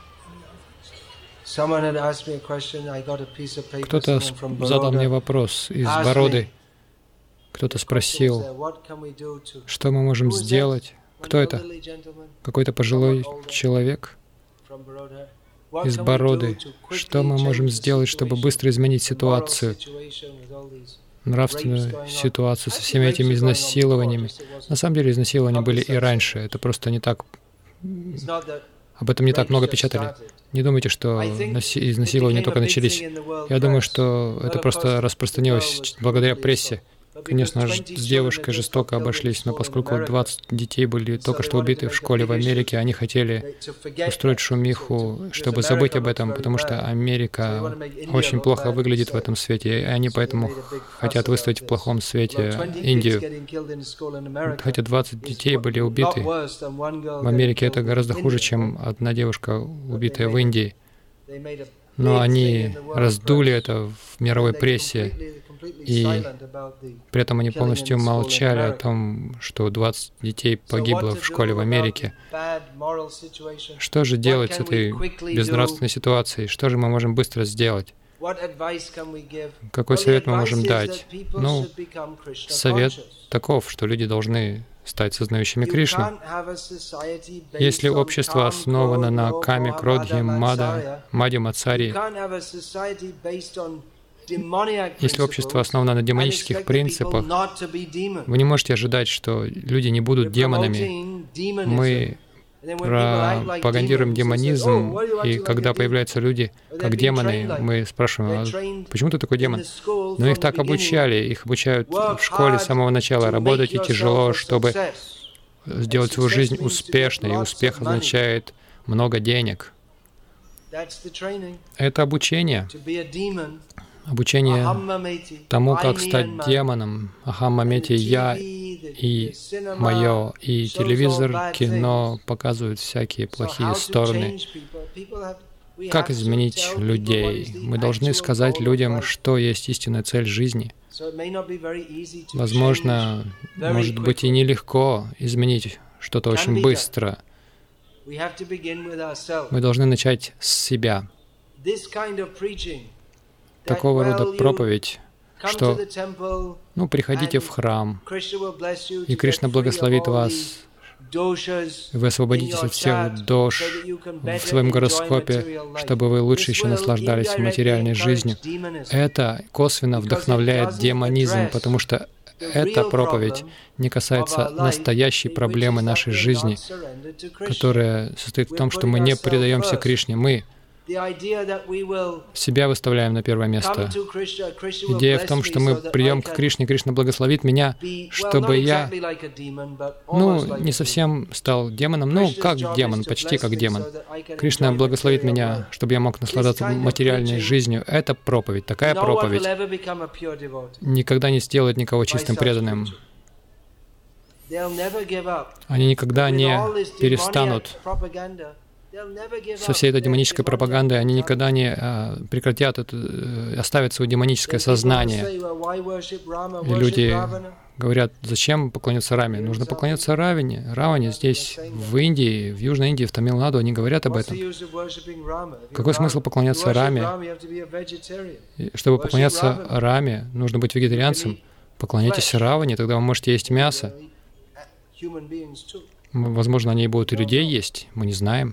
Кто-то задал мне вопрос из Бороды. Кто-то спросил, что мы можем сделать? Кто это? Какой-то пожилой человек из Бороды. Что мы можем сделать, чтобы быстро изменить ситуацию? Нравственную ситуацию со всеми этими изнасилованиями. На самом деле изнасилования были и раньше. Это просто не так... Об этом не так много печатали. Не думайте, что изнасилования только начались. Я думаю, что это просто распространилось благодаря прессе. Конечно, с девушкой жестоко обошлись, но поскольку двадцать детей были только что убиты в школе в Америке, они хотели устроить шумиху, чтобы забыть об этом, потому что Америка очень плохо выглядит в этом свете, и они поэтому хотят выставить в плохом свете Индию. Хотя двадцать детей были убиты в Америке, это гораздо хуже, чем одна девушка, убитая в Индии. Но они раздули это в мировой прессе, и при этом они полностью молчали о том, что двадцать детей погибло в школе в Америке. Что же делать с этой безнравственной ситуацией? Что же мы можем быстро сделать? Какой совет мы можем дать? Ну, совет таков, что люди должны стать сознающими Кришну. Если общество основано на каме, кродхе, мада, маде, мацари, если общество основано на демонических принципах, вы не можете ожидать, что люди не будут демонами. Мы пропагандируем демонизм, и когда появляются люди как демоны, мы спрашиваем, а почему ты такой демон? Но их так обучали, их обучают в школе с самого начала. Работайте тяжело, чтобы сделать свою жизнь успешной, и успех означает много денег. Это обучение. Обучение тому, как стать демоном. Ахаммамети, я и мое. И телевизор, кино показывают всякие плохие стороны. Как изменить людей? Мы должны сказать людям, что есть истинная цель жизни. Возможно, может быть и нелегко изменить что-то очень быстро. Мы должны начать с себя. Такого рода проповедь, что, ну, приходите в храм, и Кришна благословит вас, вы освободитесь от всех дош в своем гороскопе, чтобы вы лучше еще наслаждались материальной жизнью. Это косвенно вдохновляет демонизм, потому что эта проповедь не касается настоящей проблемы нашей жизни, которая состоит в том, что мы не предаемся Кришне. Мы себя выставляем на первое место. Идея в том, что мы придем к Кришне, Кришна благословит меня, чтобы я, ну, не совсем стал демоном, ну, как демон, почти как демон. Кришна благословит меня, чтобы я мог наслаждаться материальной жизнью. Это проповедь, такая проповедь никогда не сделает никого чистым преданным. Они никогда не перестанут со всей этой демонической пропагандой, они никогда не а, прекратят, это, оставят свое демоническое сознание. И люди говорят, зачем поклоняться Раме? Нужно поклоняться Раване. Раване здесь, в Индии, в Южной Индии, в Тамилнаду, они говорят об этом. Какой смысл поклоняться Раме? Чтобы поклоняться Раме, нужно быть вегетарианцем. Поклоняйтесь Раване, тогда вы можете есть мясо. Возможно, они и будут и людей есть, мы не знаем.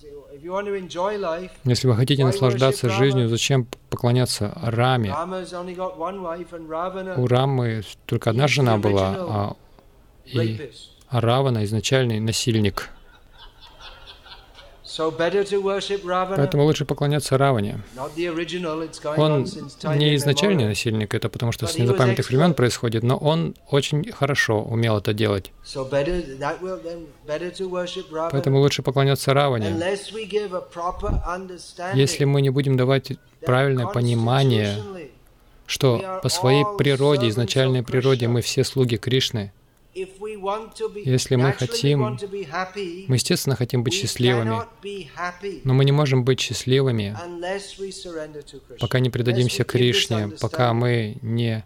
Если вы хотите наслаждаться жизнью, зачем поклоняться Раме? У Рамы только одна жена была, а, и, а Равана изначальный насильник. Поэтому лучше поклоняться Раване. Он не изначальный насильник, это потому что с незапамятных времен происходит, но он очень хорошо умел это делать. Поэтому лучше поклоняться Раване. Если мы не будем давать правильное понимание, что по своей природе, изначальной природе, мы все слуги Кришны, если мы хотим, мы, естественно, хотим быть счастливыми, но мы не можем быть счастливыми, пока не предадимся Кришне, пока мы не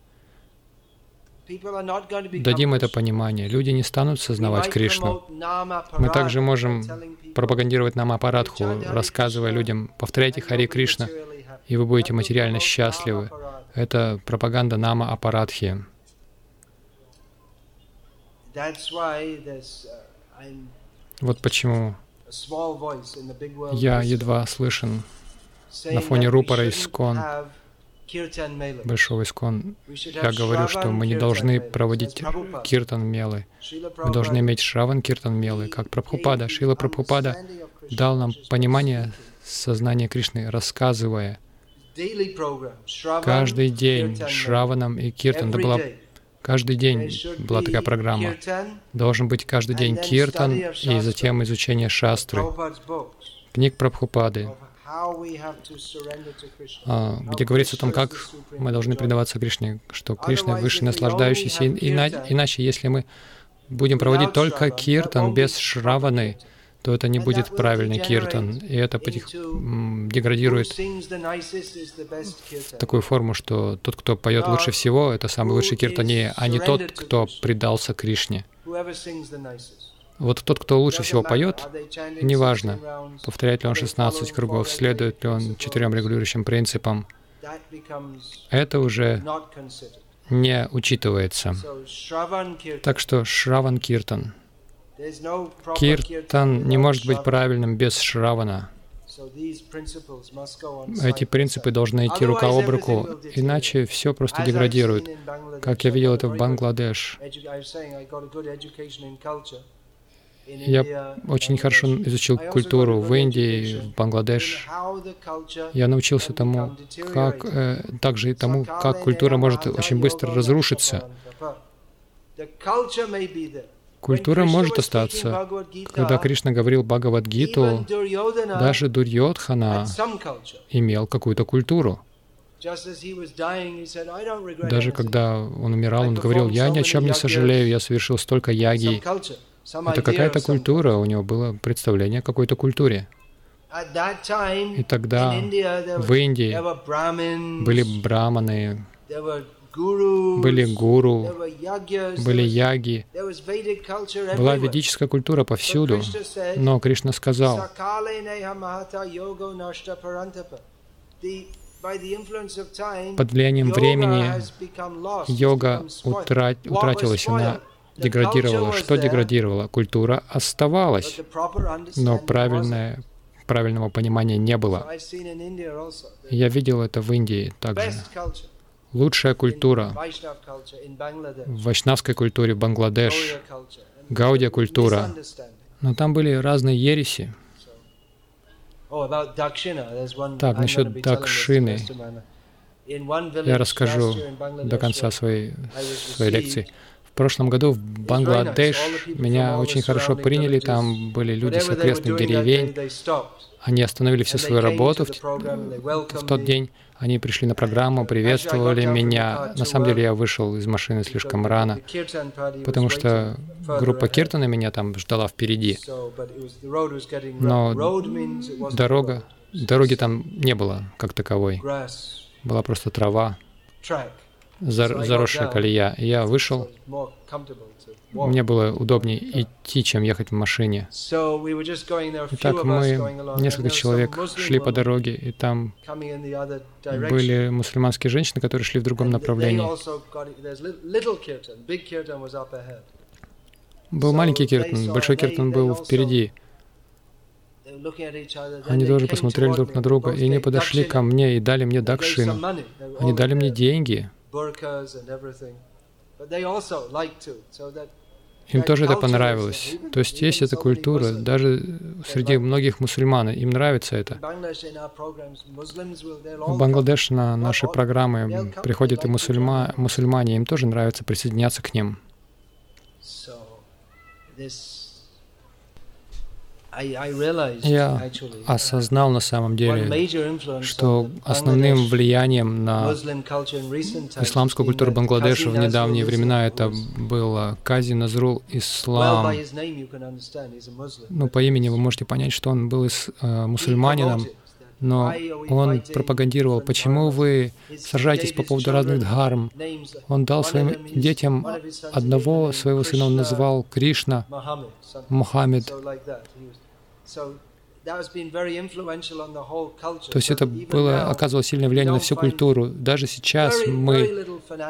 дадим это понимание. Люди не станут сознавать Кришну. Мы также можем пропагандировать Нама-апарадху, рассказывая людям, повторяйте Хари Кришна, и вы будете материально счастливы. Это пропаганда Нама-апарадхи. Вот почему я едва слышен на фоне рупора Искон, большого Искон. Я говорю, что мы не должны проводить киртан-мелы. Мы должны иметь шраван-киртан-мелы, как Прабхупада. Шрила Прабхупада дал нам понимание сознания Кришны, рассказывая каждый день шраванам и киртан. Это была Каждый день была такая программа. Должен быть каждый день киртан и затем изучение шастры, книг Прабхупады, где говорится о том, как мы должны предаваться Кришне, что Кришна выше наслаждающийся. Иначе, если мы будем проводить только киртан без шраваны, то это не будет правильный киртан, и это потих... деградирует в такую форму, что тот, кто поет лучше всего, это самый лучший киртане, а не тот, кто предался Кришне. Вот тот, кто лучше всего поет, неважно, повторяет ли он шестнадцать кругов, следует ли он четырем регулирующим принципам, это уже не учитывается. Так что шраван киртан. Киртан не может быть правильным без шравана. Эти принципы должны идти рука об руку, иначе все просто деградирует. Как я видел это в Бангладеш. Я очень хорошо изучил культуру в Индии, в Бангладеш. Я научился тому, как, э, также и тому, как культура может очень быстро разрушиться. Культура может остаться. Когда Кришна говорил Бхагавад-гиту, даже Дурьодхана имел какую-то культуру. Даже когда он умирал, он говорил, «Я ни о чем не сожалею, я совершил столько яги». Это какая-то культура, у него было представление о какой-то культуре. И тогда в Индии были браманы, были гуру, были яги, была ведическая культура повсюду. Но Кришна сказал, под влиянием времени йога утра... утратилась, она деградировала. Что деградировало? Культура оставалась, но правильное, правильного понимания не было. Я видел это в Индии также. Лучшая культура в вайшнавской культуре, Бангладеш, гаудия культура. Но там были разные ереси. Так, насчет дакшины. Я расскажу до конца своей, своей лекции. В прошлом году в Бангладеш меня очень хорошо приняли. Там были люди с окрестных деревень. Они остановили всю свою работу в, в тот день. Они пришли на программу, приветствовали меня. На самом деле я вышел из машины слишком рано, потому что группа Киртана меня там ждала впереди. Но дорога, дороги там не было как таковой. Была просто трава, зар, заросшая колея. И я вышел. Мне было удобнее идти, чем ехать в машине. Итак, мы, несколько человек, шли по дороге, и там были мусульманские женщины, которые шли в другом направлении. Был маленький киртан, большой киртан был впереди. Они тоже посмотрели друг на друга, и они подошли ко мне и дали мне дакшину. Они дали мне деньги. Им тоже это понравилось. То есть есть эта культура, даже среди многих мусульман, им нравится это. В Бангладеш на наши программы приходят и мусульма, мусульмане, им тоже нравится присоединяться к ним. Я осознал на самом деле, что основным влиянием на исламскую культуру Бангладеша в недавние времена это был Кази Назрул Ислам. Ну, по имени вы можете понять, что он был ис, э, мусульманином, но он пропагандировал, почему вы сражаетесь по поводу разных дхарм. Он дал своим детям одного своего сына, он назвал Кришна, Мухаммед. То есть это было, оказывало сильное влияние на всю культуру. Даже сейчас мы...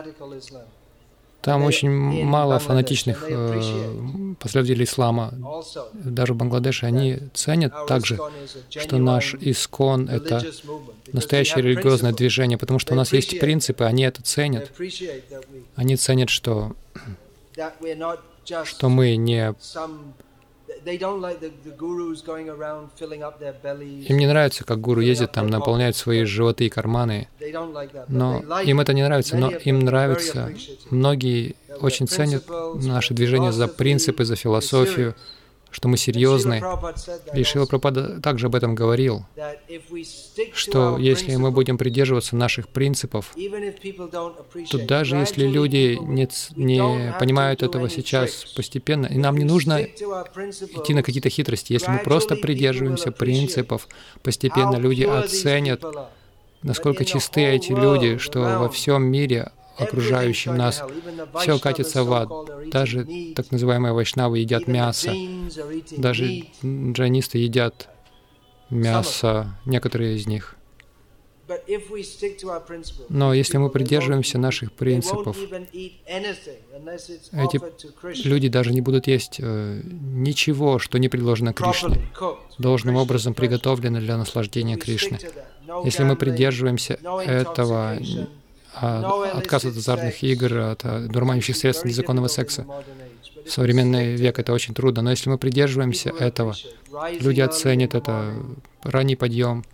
Там очень мало фанатичных э, последователей ислама. Даже в Бангладеше они ценят также, что наш искон — это настоящее религиозное движение, потому что у нас есть принципы, они это ценят. Они ценят, что, что мы не... Им не нравится, как гуру ездит там, наполняет свои животы и карманы. Но им это не нравится. Но им нравится. Многие очень ценят наше движение за принципы, за философию, что мы серьезны. И Шрила Прабхупада также об этом говорил, что если мы будем придерживаться наших принципов, то даже если люди не, не понимают этого сейчас постепенно, и нам не нужно идти на какие-то хитрости, если мы просто придерживаемся принципов, постепенно люди оценят, насколько чисты эти люди, что во всем мире окружающим нас, все катится в ад. Даже так называемые вайшнавы едят мясо. Даже джайнисты едят мясо, некоторые из них. Но если мы придерживаемся наших принципов, эти люди даже не будут есть э, ничего, что не предложено Кришне, должным образом приготовлено для наслаждения Кришны. Если мы придерживаемся этого, отказ от азартных игр, от дурманящих средств незаконного секса. В современный век это очень трудно, но если мы придерживаемся этого, люди оценят это, ранний подъем.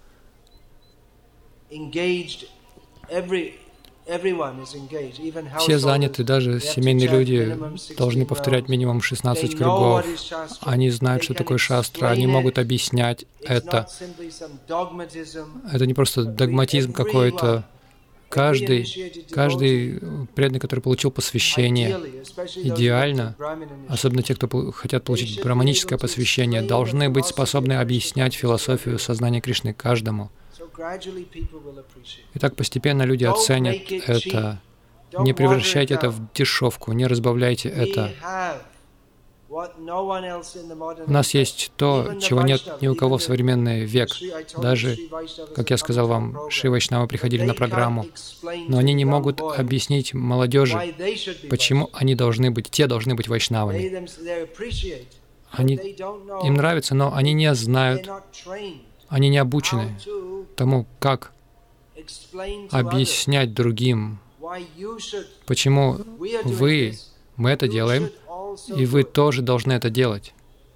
Все заняты, даже семейные люди должны повторять минимум шестнадцать кругов. Они знают, что такое шастра, они могут объяснять это. Это не просто догматизм какой-то. Каждый, каждый преданный, который получил посвящение, идеально, особенно те, кто хотят получить браманическое посвящение, должны быть способны объяснять философию сознания Кришны каждому. И так постепенно люди оценят это. Не превращайте это в дешевку, не разбавляйте это. У нас есть то, чего нет ни у кого в современный век. Даже, как я сказал вам, Шри Вайшнавы приходили на программу, но они не могут объяснить молодежи, почему они должны быть, те должны быть вайшнавами. Они, им нравится, но они не знают, они не обучены тому, как объяснять другим, почему вы, мы это делаем, и вы тоже должны это делать.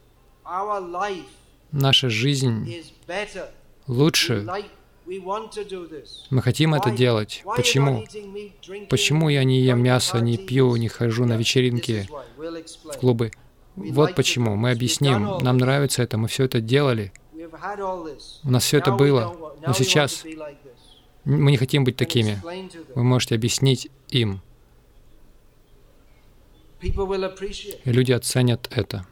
Наша жизнь лучше. Мы хотим это делать. Почему? Почему я не ем мясо, не пью, не хожу на вечеринки, в клубы? Вот почему. Мы объясним. Нам нравится это, мы все это делали. У нас все это было. Но сейчас мы не хотим быть такими. Вы можете объяснить им. И люди оценят это.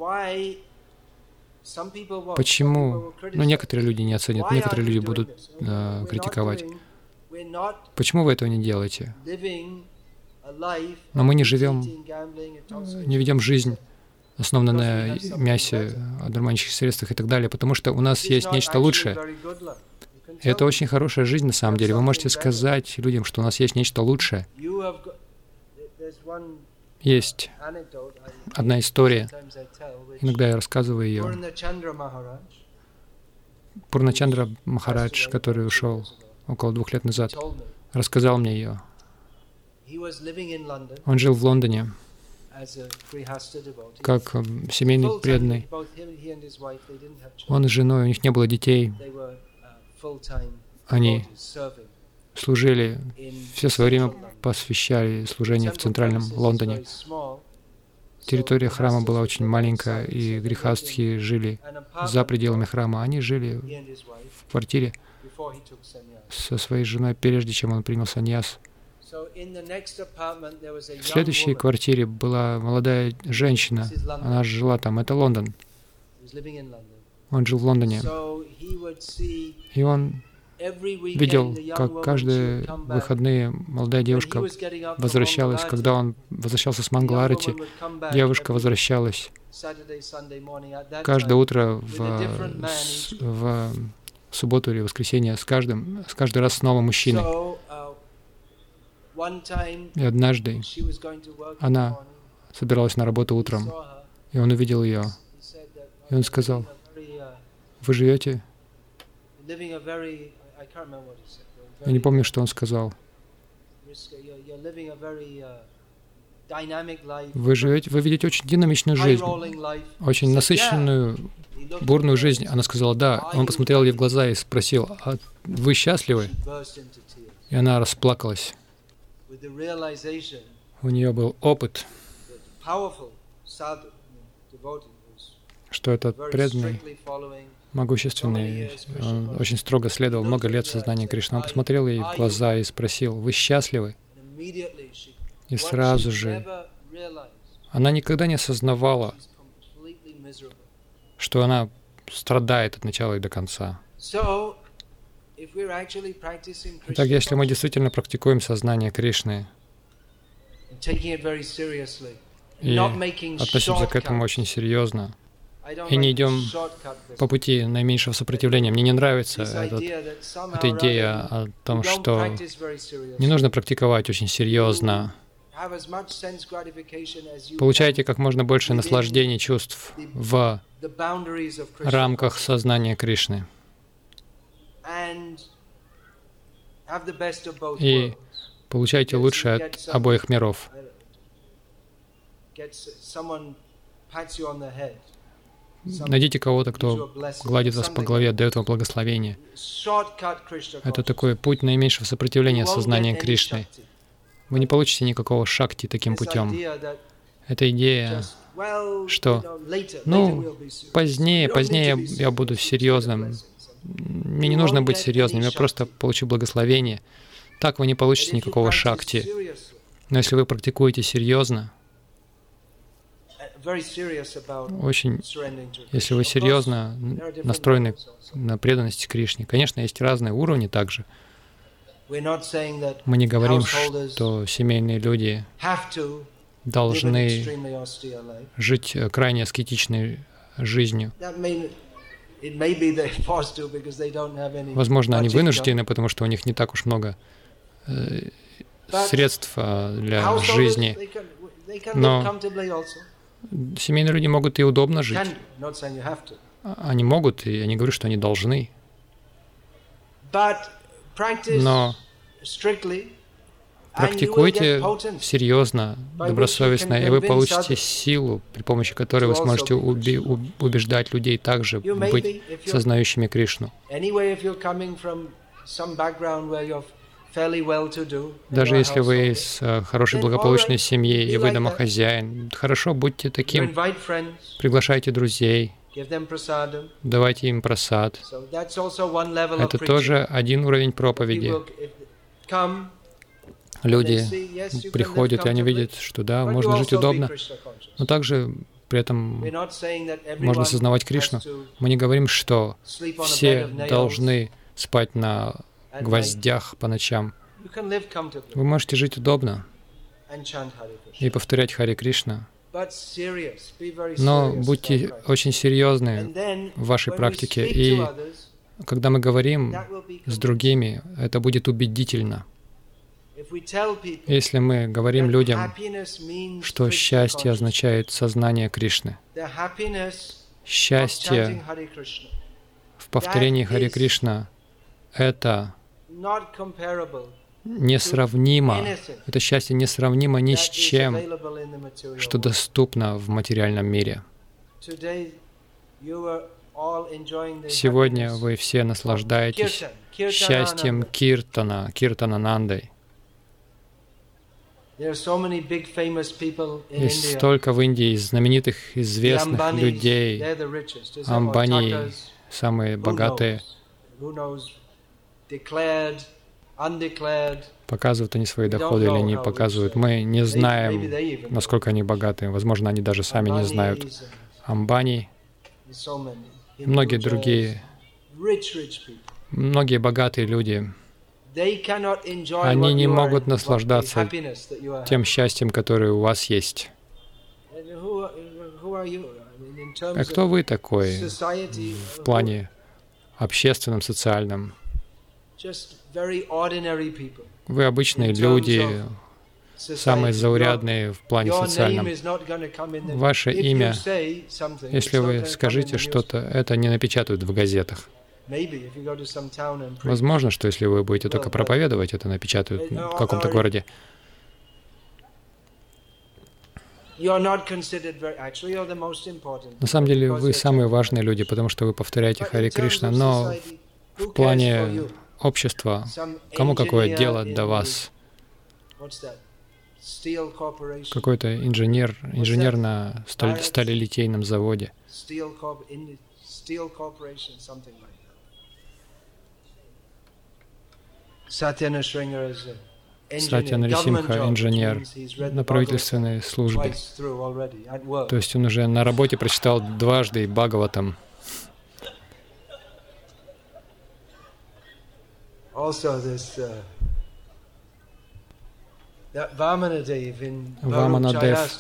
Почему? Ну, некоторые люди не оценят, некоторые люди будут э, критиковать. Почему вы этого не делаете? Но мы не живем, не ведем жизнь, основанную на мясе, одурманивающих средствах и так далее, потому что у нас есть нечто лучшее. И это очень хорошая жизнь на самом деле. Вы можете сказать людям, что у нас есть нечто лучшее. Есть одна история, иногда я рассказываю ее. Пурначандра Махарадж, который ушел около двух лет назад, рассказал мне ее. Он жил в Лондоне как семейный преданный. Он с женой, у них не было детей. Они служили, все свое время посвящали служению в центральном Лондоне. Территория храма была очень маленькая, и грихастхи жили за пределами храма. Они жили в квартире со своей женой, прежде чем он принял саньяс. В следующей квартире была молодая женщина. Она жила там. Это Лондон. Он жил в Лондоне. И он видел, как каждые выходные молодая девушка возвращалась, когда он возвращался с Мангаларати, девушка возвращалась каждое утро в, в субботу или воскресенье с каждым, с каждый раз с новым мужчиной. И однажды она собиралась на работу утром, и он увидел ее, и он сказал: «Вы живете?» Я не помню, что он сказал. Вы живете, вы ведете очень динамичную жизнь, очень насыщенную, бурную жизнь. Она сказала: «Да». Он посмотрел ей в глаза и спросил: «А вы счастливы?» И она расплакалась. У нее был опыт, что этот преданный, могущественный, он очень строго следовал много лет в сознании Кришны. Он посмотрел ей в глаза и спросил: «Вы счастливы?» И сразу же она никогда не осознавала, что она страдает от начала и до конца. Итак, если мы действительно практикуем сознание Кришны и относимся к этому очень серьезно, и не идем по пути наименьшего сопротивления. Мне не нравится этот, эта идея о том, что не нужно практиковать очень серьезно. Получайте как можно больше наслаждений, чувств в рамках сознания Кришны. И получайте лучшее от обоих миров. Найдите кого-то, кто гладит вас по голове, дает вам благословение. Это такой путь наименьшего сопротивления сознания Кришны. Вы не получите никакого шакти таким путем. Эта идея, что, ну, позднее, позднее я буду серьезным. Мне не нужно быть серьезным, я просто получу благословение. Так вы не получите никакого шакти. Но если вы практикуете серьезно, очень, если вы серьезно настроены на преданность Кришне, конечно, есть разные уровни также. Мы не говорим, что семейные люди должны жить крайне аскетичной жизнью. Возможно, они вынуждены, потому что у них не так уж много э, средств для жизни. Но семейные люди могут и удобно жить. Они могут, и я не говорю, что они должны. Но практикуйте серьезно, добросовестно, и вы получите силу, при помощи которой вы сможете уби- убеждать людей также быть сознающими Кришну. Даже если вы из хорошей благополучной семьи и вы домохозяин, хорошо, будьте таким. Приглашайте друзей, давайте им прасад. Это тоже один уровень проповеди. Люди приходят, и они видят, что да, можно жить удобно, но также при этом можно осознавать Кришну. Мы не говорим, что все должны спать на гвоздях по ночам. Вы можете жить удобно и повторять Харе Кришна, но будьте очень серьезны в вашей практике, и когда мы говорим с другими, это будет убедительно. Если мы говорим людям, что счастье означает сознание Кришны, счастье в повторении Харе Кришна — это несравнимо, это счастье несравнимо ни с чем, что доступно в материальном мире. Сегодня вы все наслаждаетесь счастьем Киртана, Киртананандой. Есть столько в Индии знаменитых, известных людей. Амбани, самые богатые. Показывают они свои доходы или не показывают. Мы не знаем, насколько они богаты. Возможно, они даже сами не знают. Амбани, многие другие, многие богатые люди, они не могут наслаждаться тем счастьем, которое у вас есть. А кто вы такой в плане общественном, социальном? Вы обычные люди, самые заурядные в плане социальном. Ваше имя, если вы скажете что-то, это не напечатают в газетах. Возможно, что если вы будете только проповедовать, это напечатают в каком-то городе. На самом деле, вы самые важные люди, потому что вы повторяете Харе Кришна, но в плане общества, кому какое дело до вас? Какой-то инженер, инженер на сталь, сталелитейном заводе. Сатья Нарисимха, инженер на правительственной службе. То есть он уже на работе прочитал дважды Бхагаватам. Ваманадев.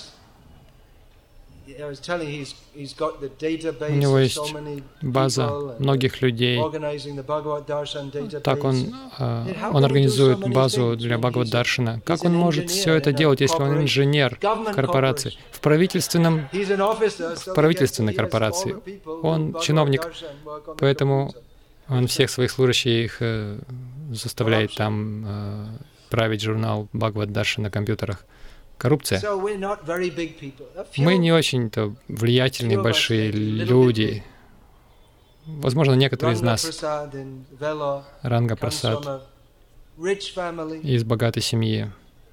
У него есть база многих людей. Так он, он организует базу для Бхагавад-даршана. Как он может все это делать, если он инженер в корпорации, в правительственном, в правительственной корпорации? Он чиновник, поэтому он всех своих служащих заставляет там править журнал Бхагавад-даршана на компьютерах. Коррупция. Мы не очень-то влиятельные, большие люди. Возможно, некоторые из нас, Ранга Прасад, из богатой семьи,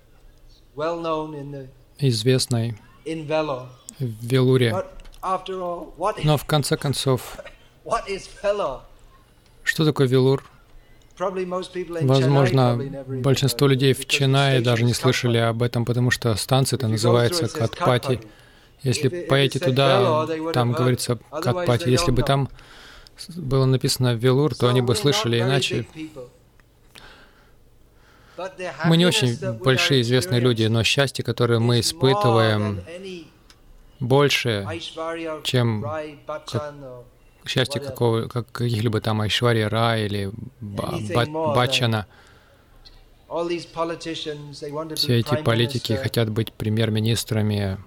известной в Велуре. Но в конце концов, что такое Велур? Возможно, большинство людей в Ченнае даже не слышали об этом, потому что станция-то называется Катпати. Если поедете туда, там говорится Катпати. Если бы там было написано Велур, то они бы слышали, иначе Мы не очень большие известные люди, но счастье, которое мы испытываем, больше, чем как счастье какого, как каких-либо там Айшварьи Рай или Баччана. Все эти политики хотят быть премьер-министрами.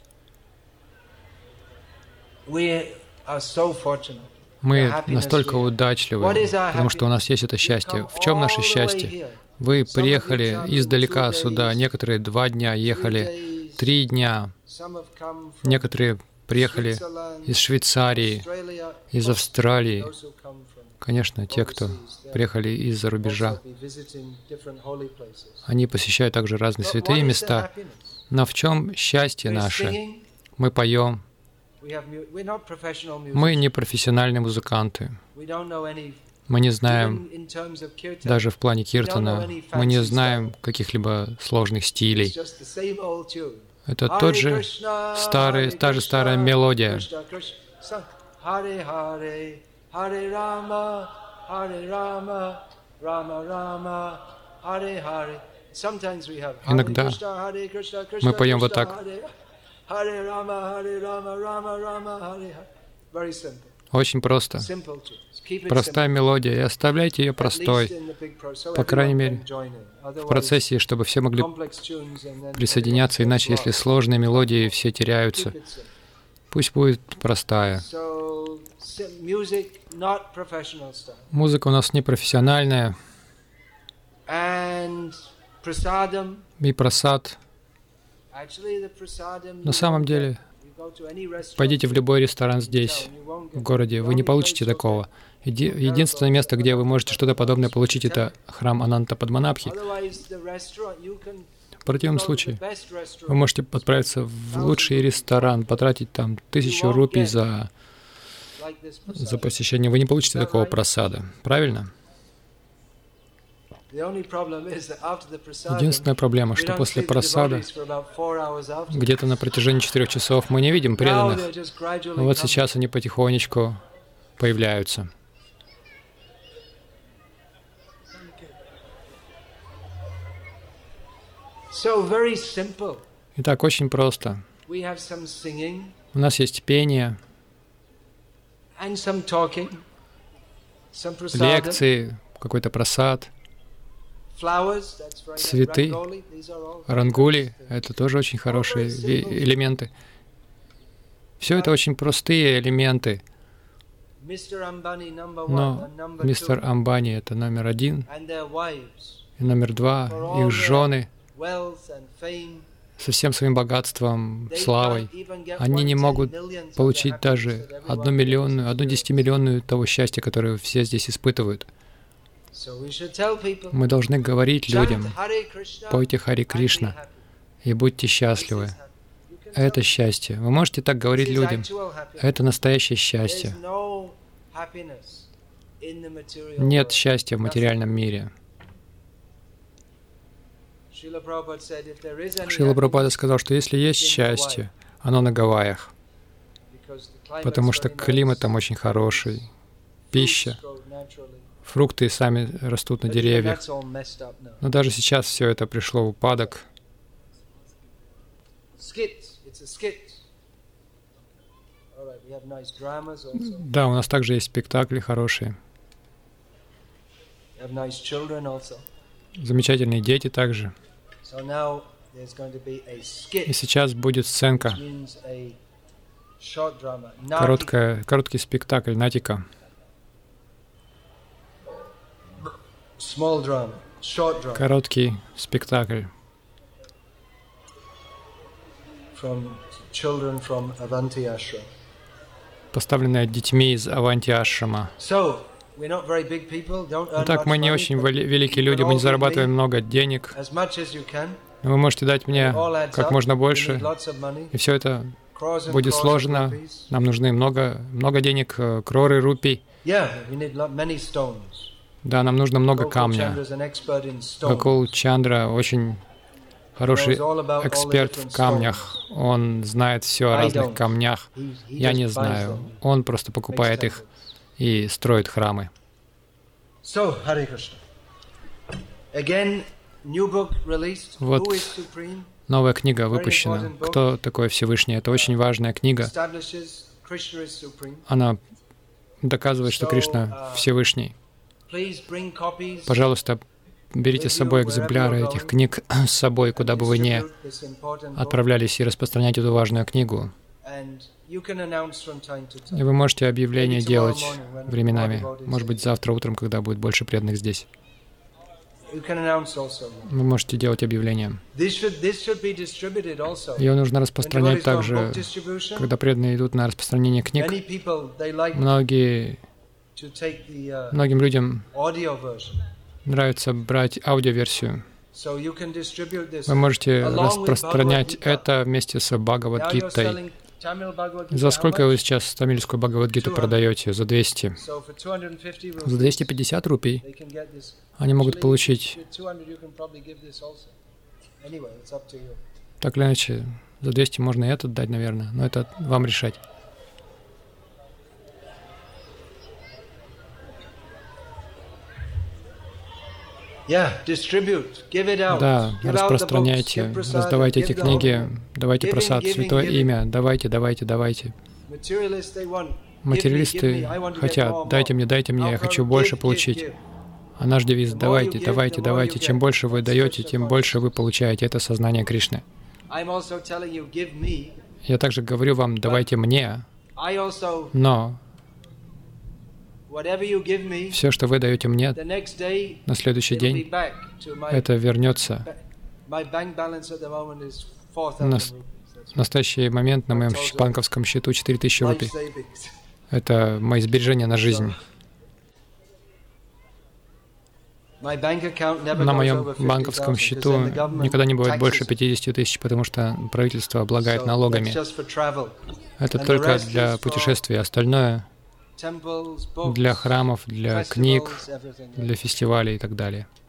Мы настолько удачливы, потому что у нас есть это счастье. В чем наше счастье? Вы приехали издалека сюда, некоторые два дня ехали, три дня, некоторые приехали из Швейцарии, из Австралии. Конечно, те, кто приехали из-за рубежа, они посещают также разные святые места. Но в чем счастье наше? Мы поем. Мы не профессиональные музыканты. Мы не знаем, даже в плане киртана, мы не знаем каких-либо сложных стилей. Это тот же старый, та же старая мелодия. Иногда мы поем вот так. Очень просто. Простая мелодия, и оставляйте ее простой, по крайней мере, в процессе, чтобы все могли присоединяться, иначе, если сложные мелодии, все теряются. Пусть будет простая. Музыка у нас не профессиональная. И прасад. На самом деле, пойдите в любой ресторан здесь, в городе, вы не получите такого. Еди единственное место, где вы можете что-то подобное получить, это храм Ананта Падманабхи. В противном случае, вы можете отправиться в лучший ресторан, потратить там тысячу рупий за, за посещение. Вы не получите такого прасада. Правильно? Единственная проблема, что после прасада, где-то на протяжении четырех часов, мы не видим преданных. Но вот сейчас они потихонечку появляются. Итак, очень просто. У нас есть пение, лекции, какой-то прасад, цветы, рангули — это тоже очень хорошие элементы. Все это очень простые элементы. Но мистер Амбани — это номер один, и номер два — их жены со всем своим богатством, славой. Они не могут получить даже одну миллионную, одну десятимиллионную того счастья, которое все здесь испытывают. Мы должны говорить людям: пойте Хари Кришна и будьте счастливы. Это счастье. Вы можете так говорить людям. Это настоящее счастье. Нет счастья в материальном мире. Шрила Прабхупада сказал, что если есть счастье, оно на Гавайях, потому что климат там очень хороший, пища, фрукты сами растут на деревьях. Но даже сейчас все это пришло в упадок. Да, у нас также есть спектакли хорошие. Замечательные дети также. И сейчас будет сценка, короткая, короткий спектакль, натика. Короткий спектакль. Поставленный детьми из Аванти-ашрама. Итак, мы не очень великие люди, мы не зарабатываем много денег. Но вы можете дать мне как можно больше, и все это будет сложно. Нам нужны много, много денег, кроры рупий. Да, нам нужно много камня. Гокул Чандра очень хороший эксперт в камнях. Он знает все о разных камнях. Я не знаю. Он просто покупает их и строит храмы. Вот новая книга выпущена. Кто такой Всевышний? Это очень важная книга. Она доказывает, что Кришна Всевышний. Пожалуйста, берите с собой экземпляры этих книг с собой, куда бы вы ни отправлялись, и распространяйте эту важную книгу. И вы можете объявления делать временами. Может быть, завтра утром, когда будет больше преданных здесь. Вы можете делать объявления. Ее нужно распространять также, когда преданные идут на распространение книг. Многие, многим людям нравится брать аудиоверсию. Вы можете распространять это вместе с Бхагавад-гитой. За сколько вы сейчас тамильскую Бхагавад-гиту продаете? За двести. За двести пятьдесят рупий они могут получить. Так или иначе, за двести можно и этот дать, наверное, но это вам решать. Да, распространяйте, раздавайте эти книги, давайте просад, святое имя, давайте, давайте, давайте. Материалисты хотят, дайте мне, дайте мне, я хочу больше получить. А наш девиз — давайте, давайте, давайте. Чем больше вы даете, тем больше вы получаете. Это сознание Кришны. Я также говорю вам, давайте мне, но все, что вы даете мне, на следующий день это вернется. На настоящий момент на моем банковском счету четыре тысячи рупий. Это мои сбережения на жизнь. На моем банковском счету никогда не бывает больше пятидесяти тысяч, потому что правительство облагает налогами. Это только для путешествий. Остальное — для храмов, для книг, для фестивалей и так далее.